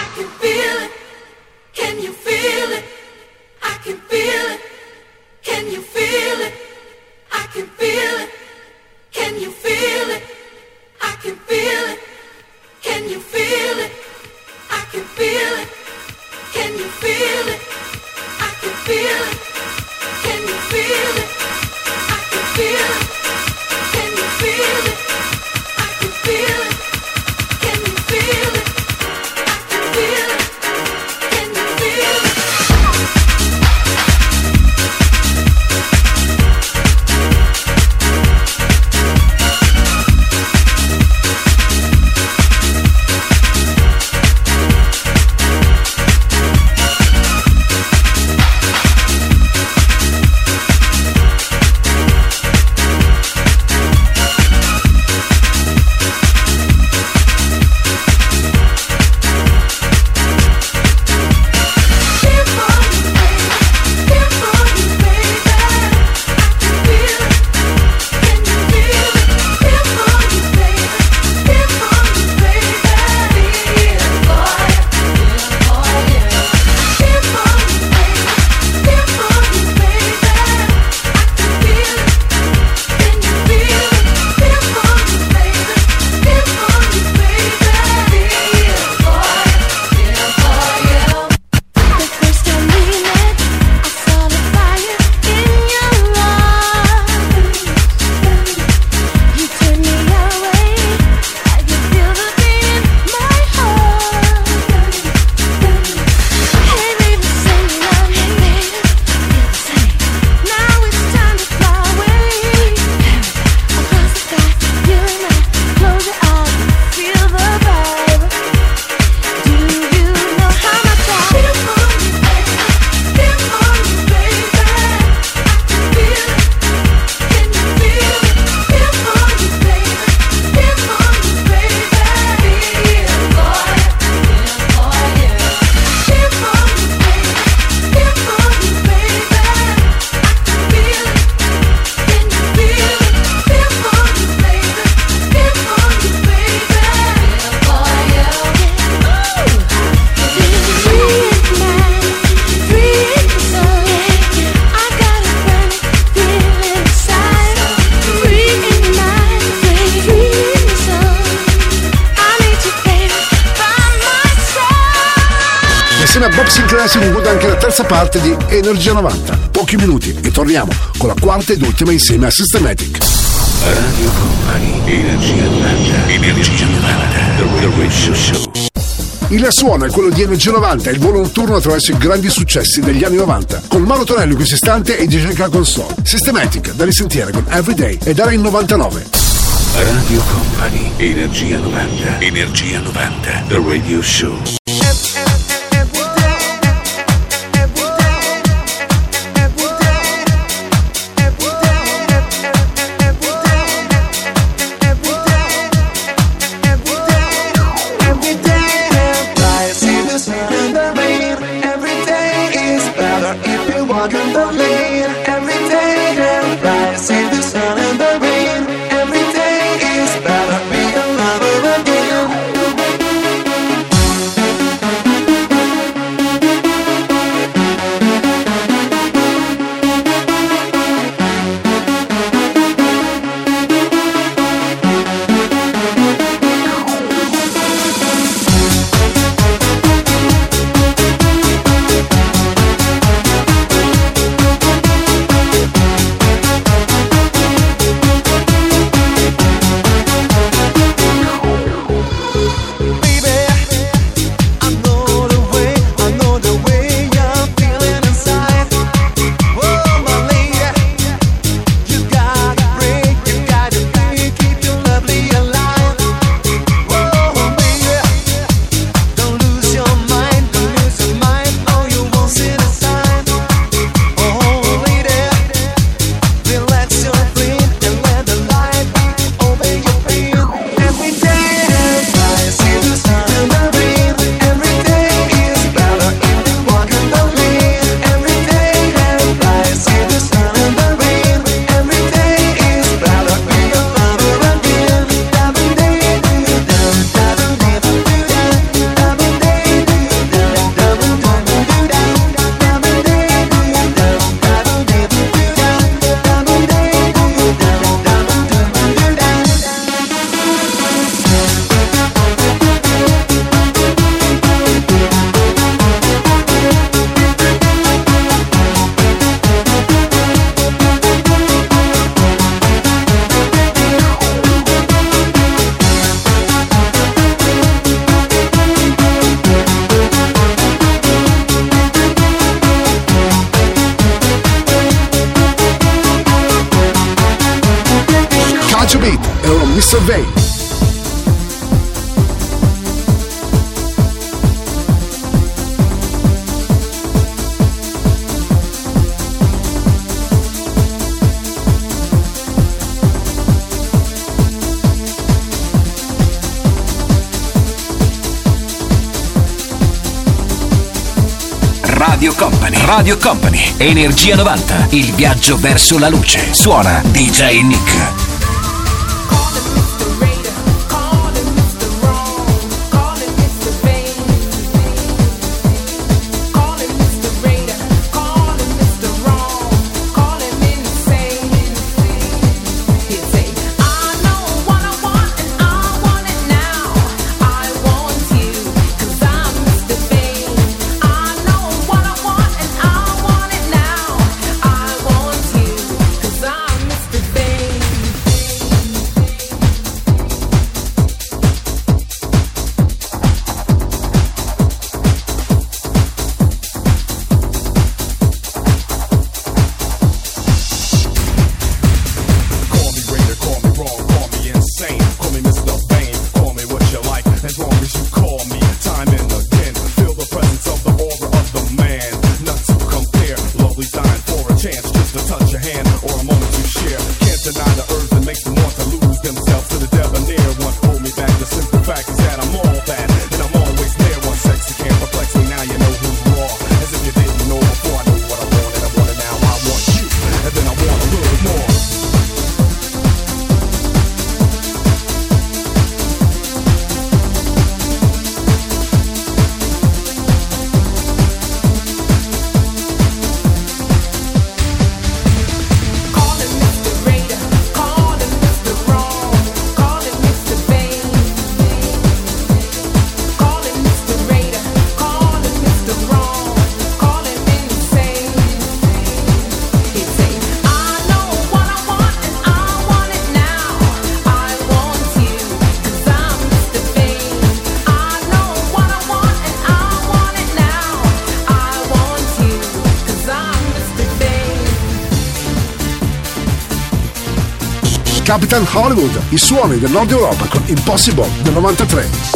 Feel Insieme a Bob Sinclair si conclude anche la terza parte di Energia 90. Pochi minuti e torniamo con la quarta ed ultima insieme a Systematic. Radio Company, Energia 90, Energia 90, The Radio Show. Il suono è quello di Energia 90, il volo notturno attraverso i grandi successi degli anni 90. Con Mauro Tonello in questo istante e DJ Nick console. Systematic, da risentire con Everyday ed era in 99. Radio Company, Energia 90, Energia 90, The Radio Show. Survey. Radio Company, Energia 90, il viaggio verso la luce. Suona DJ Nick. Capitan Hollywood, i suoni del Nord Europa con Impossible del 93.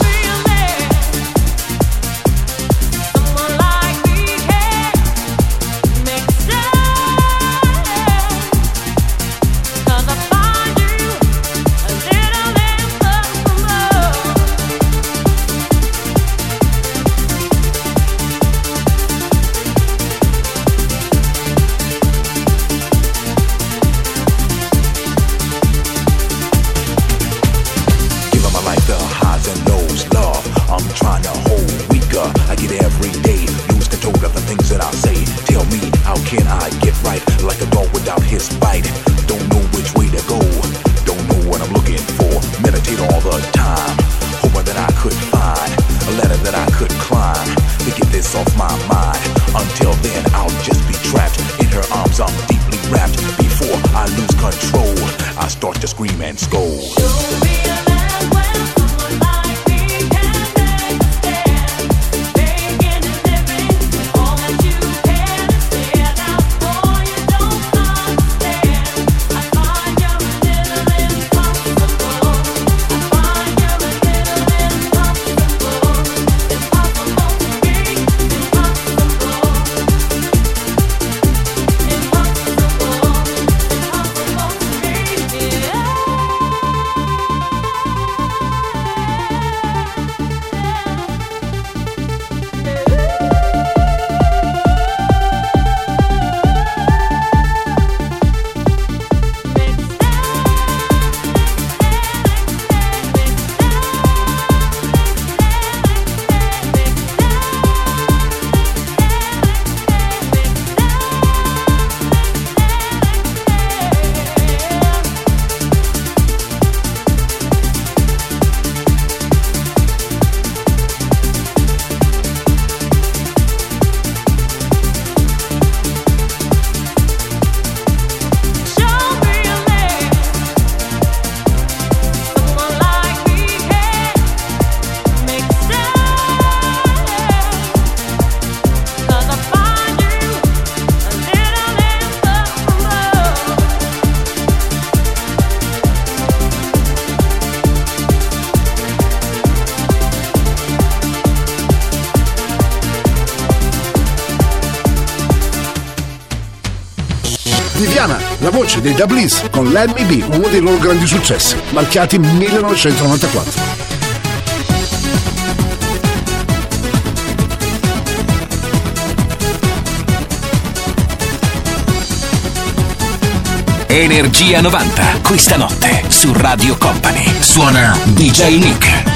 Viviana, la voce dei Da Bliss con Let Me Be, uno dei loro grandi successi, marchiati 1994. Energia 90, questa notte su Radio Company. Suona DJ Nick.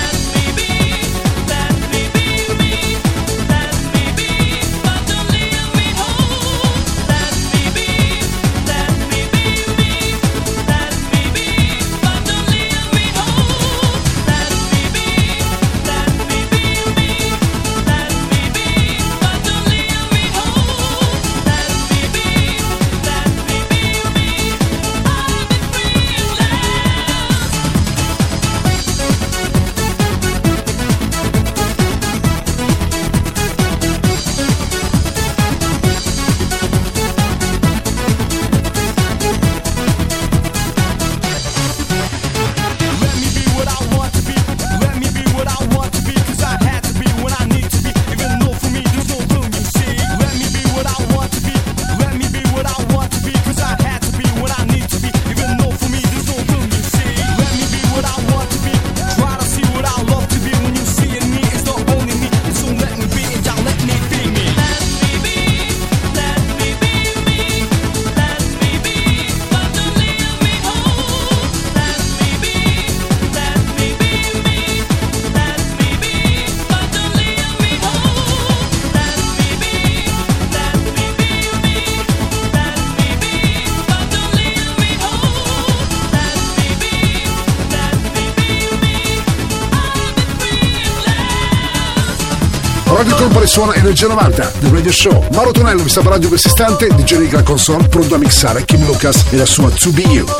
Radio Company suona Energia 90, The Radio Show. Mauro Tonello vi sta parlando in questo istante, DJ Nick la console, pronto a mixare Kim Lucas e la sua To Be You.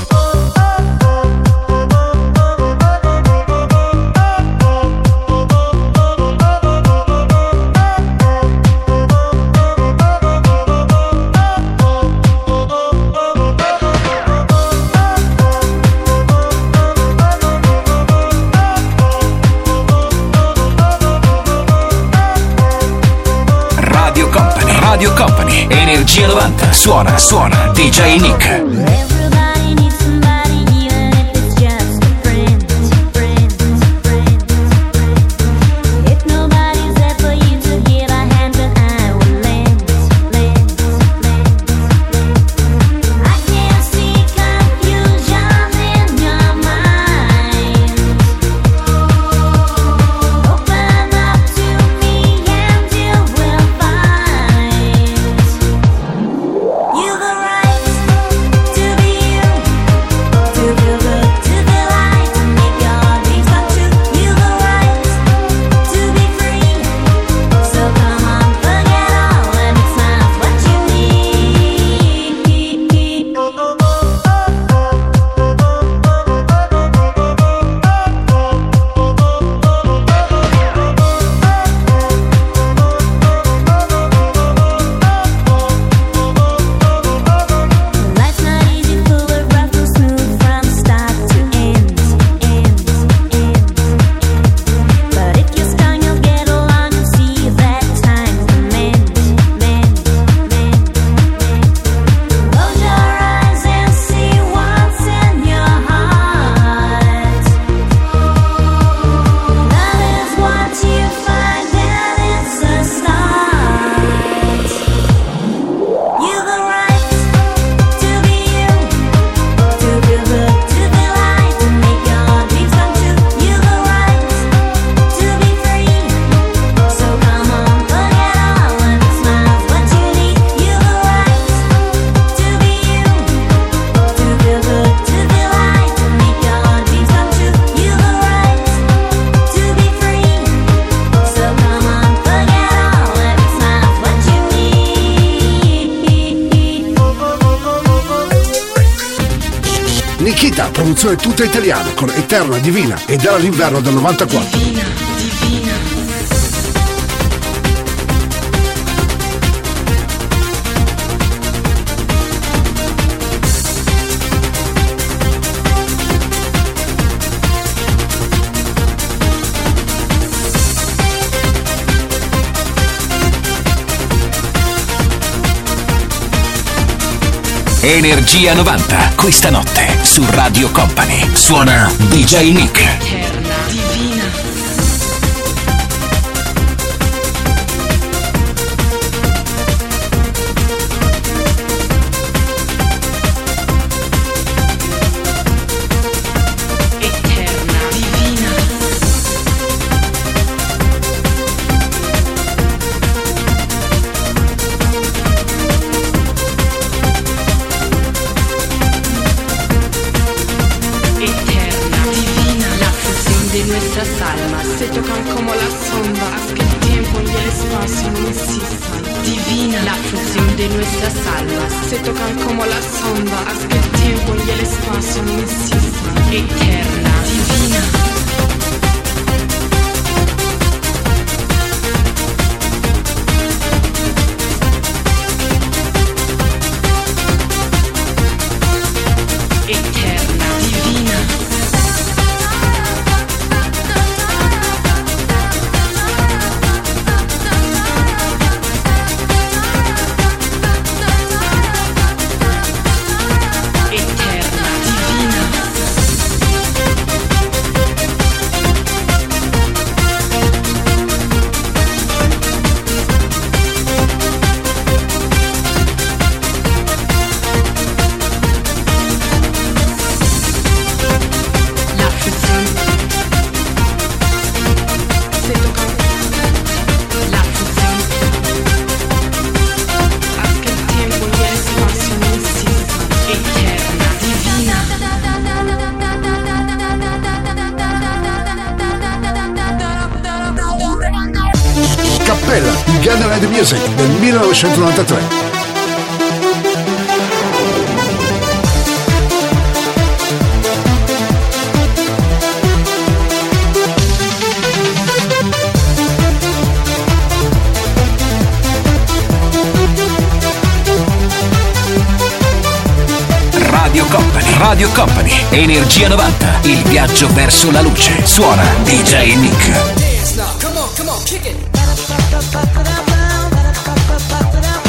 Radio Company, Energia 90. Suona DJ Nick. Nikita, produzione tutta italiana con Eterna Divina ed era l'inverno del 94. Energia 90, questa notte su Radio Company. Suona DJ Nick. Eterna, divina. Eterna, divina. De nuestras almas se tocan como las sombras, haz que el tiempo y el espacio no existan. Divina, la fusión de nuestras almas se tocan como las sombras, haz que el tiempo y el espacio no existan. Eterna, divina. Eterna, divina. Gathered Music del 1993. Radio Company, Energia 90, il viaggio verso la luce. Suona DJ Nick. Come on, kick it.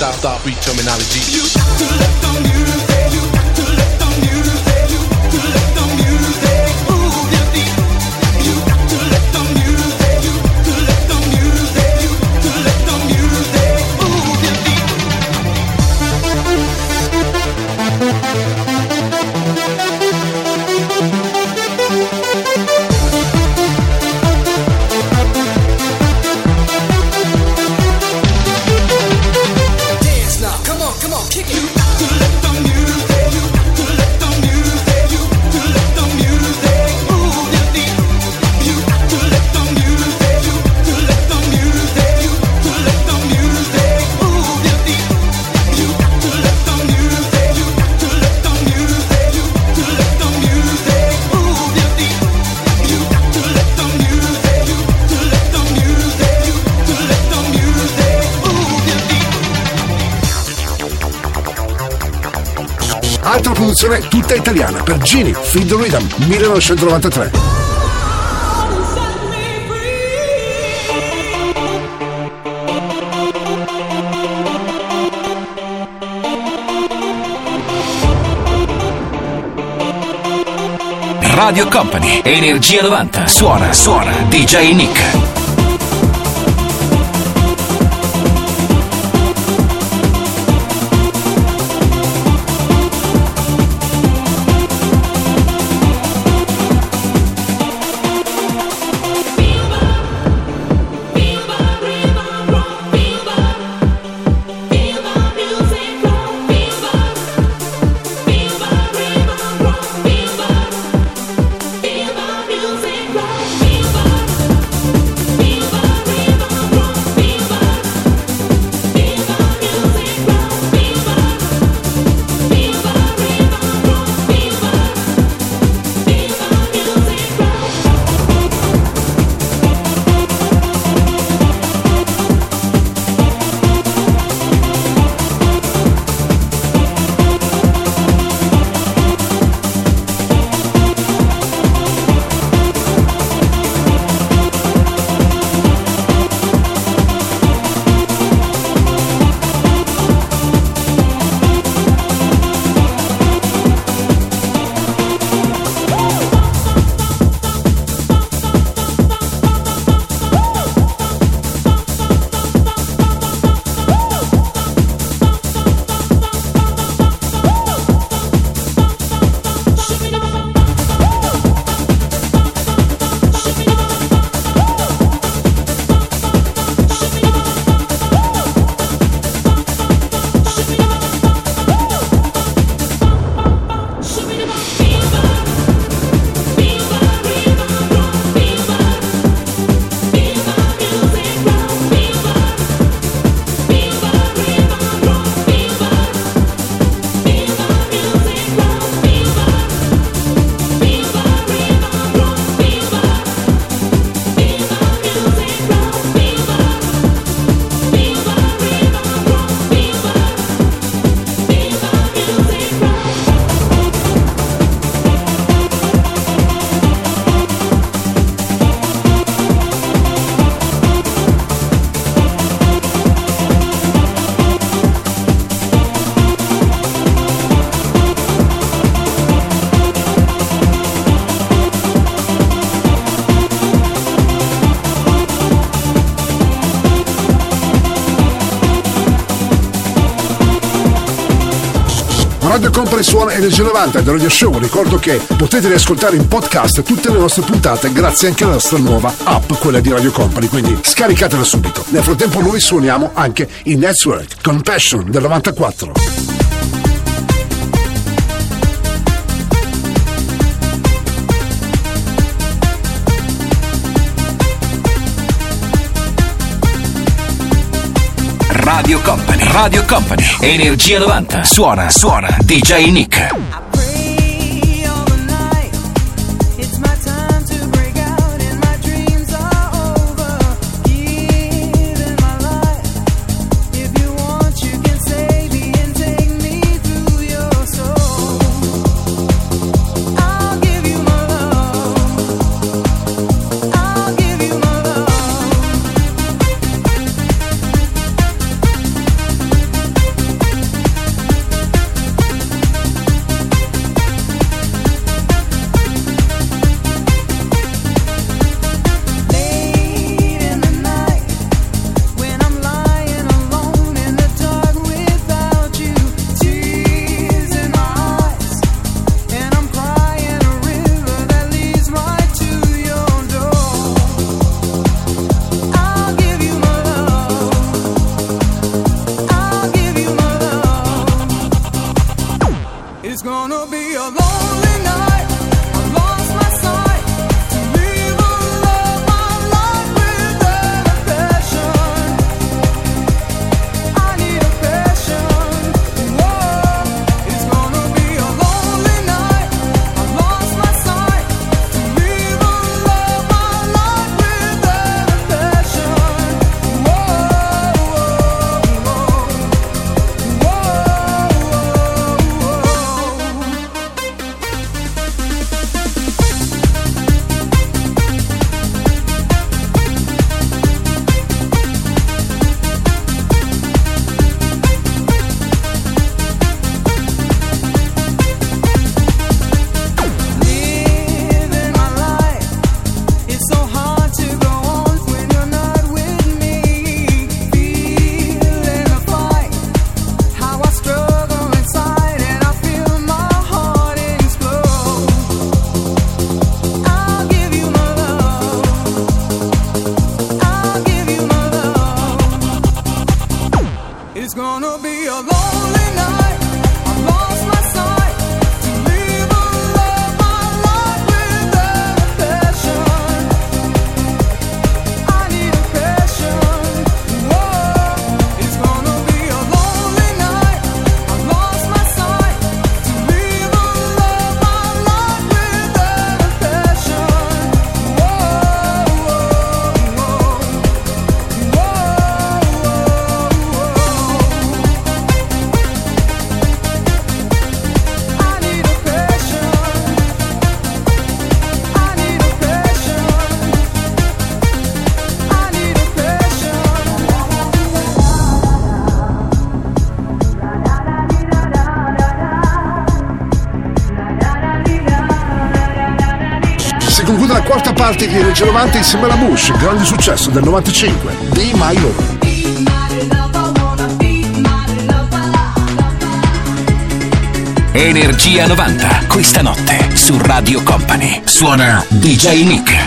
stop beat terminology. You got to let the music, you got to let the music, you got to let the music move your feet. You got to let the music, you got to let the music, you got to let the music move your feet. Altra produzione tutta italiana per Gini, Feed the Rhythm, 1993. Radio Company, Energia 90, suona DJ Nick. Radio Company suona Energia 90 del Radio Show. Ricordo che potete riascoltare in podcast tutte le nostre puntate grazie anche alla nostra nuova app, quella di Radio Company, quindi scaricatela subito. Nel frattempo noi suoniamo anche in Network con Passion del 94. Radio Company, Energia 90, suona DJ Nick. quarta parte di Energia 90 insieme alla Bush, grande successo del 95, Be My Lover. Energia 90, questa notte su Radio Company. Suona DJ Nick.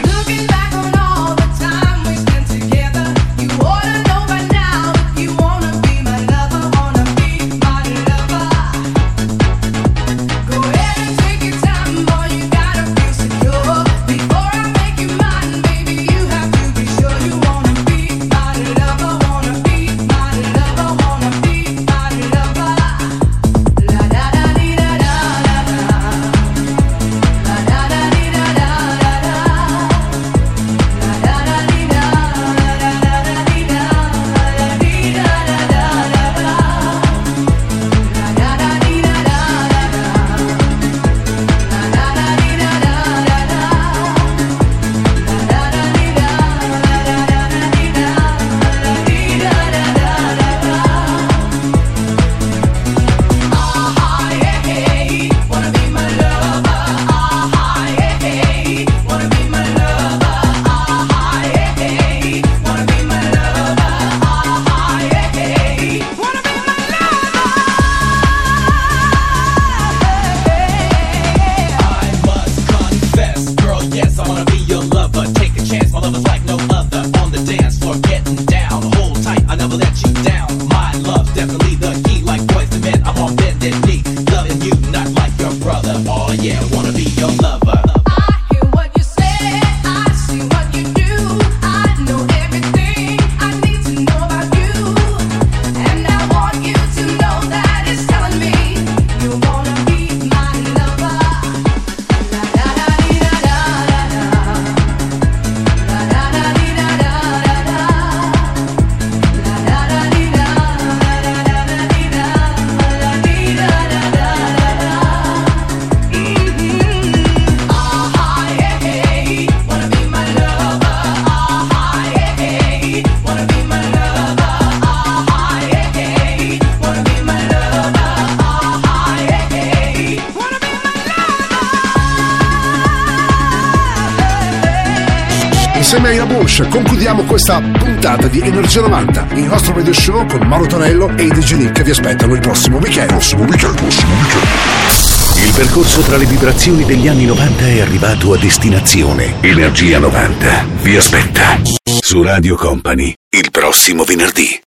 Insieme ai Rabush concludiamo questa puntata di Energia 90, il nostro radio show con Mauro Tonello e i DJ Nick che vi aspettano il prossimo weekend. Il percorso tra le vibrazioni degli anni 90 è arrivato a destinazione. Energia 90 vi aspetta su Radio Company il prossimo venerdì.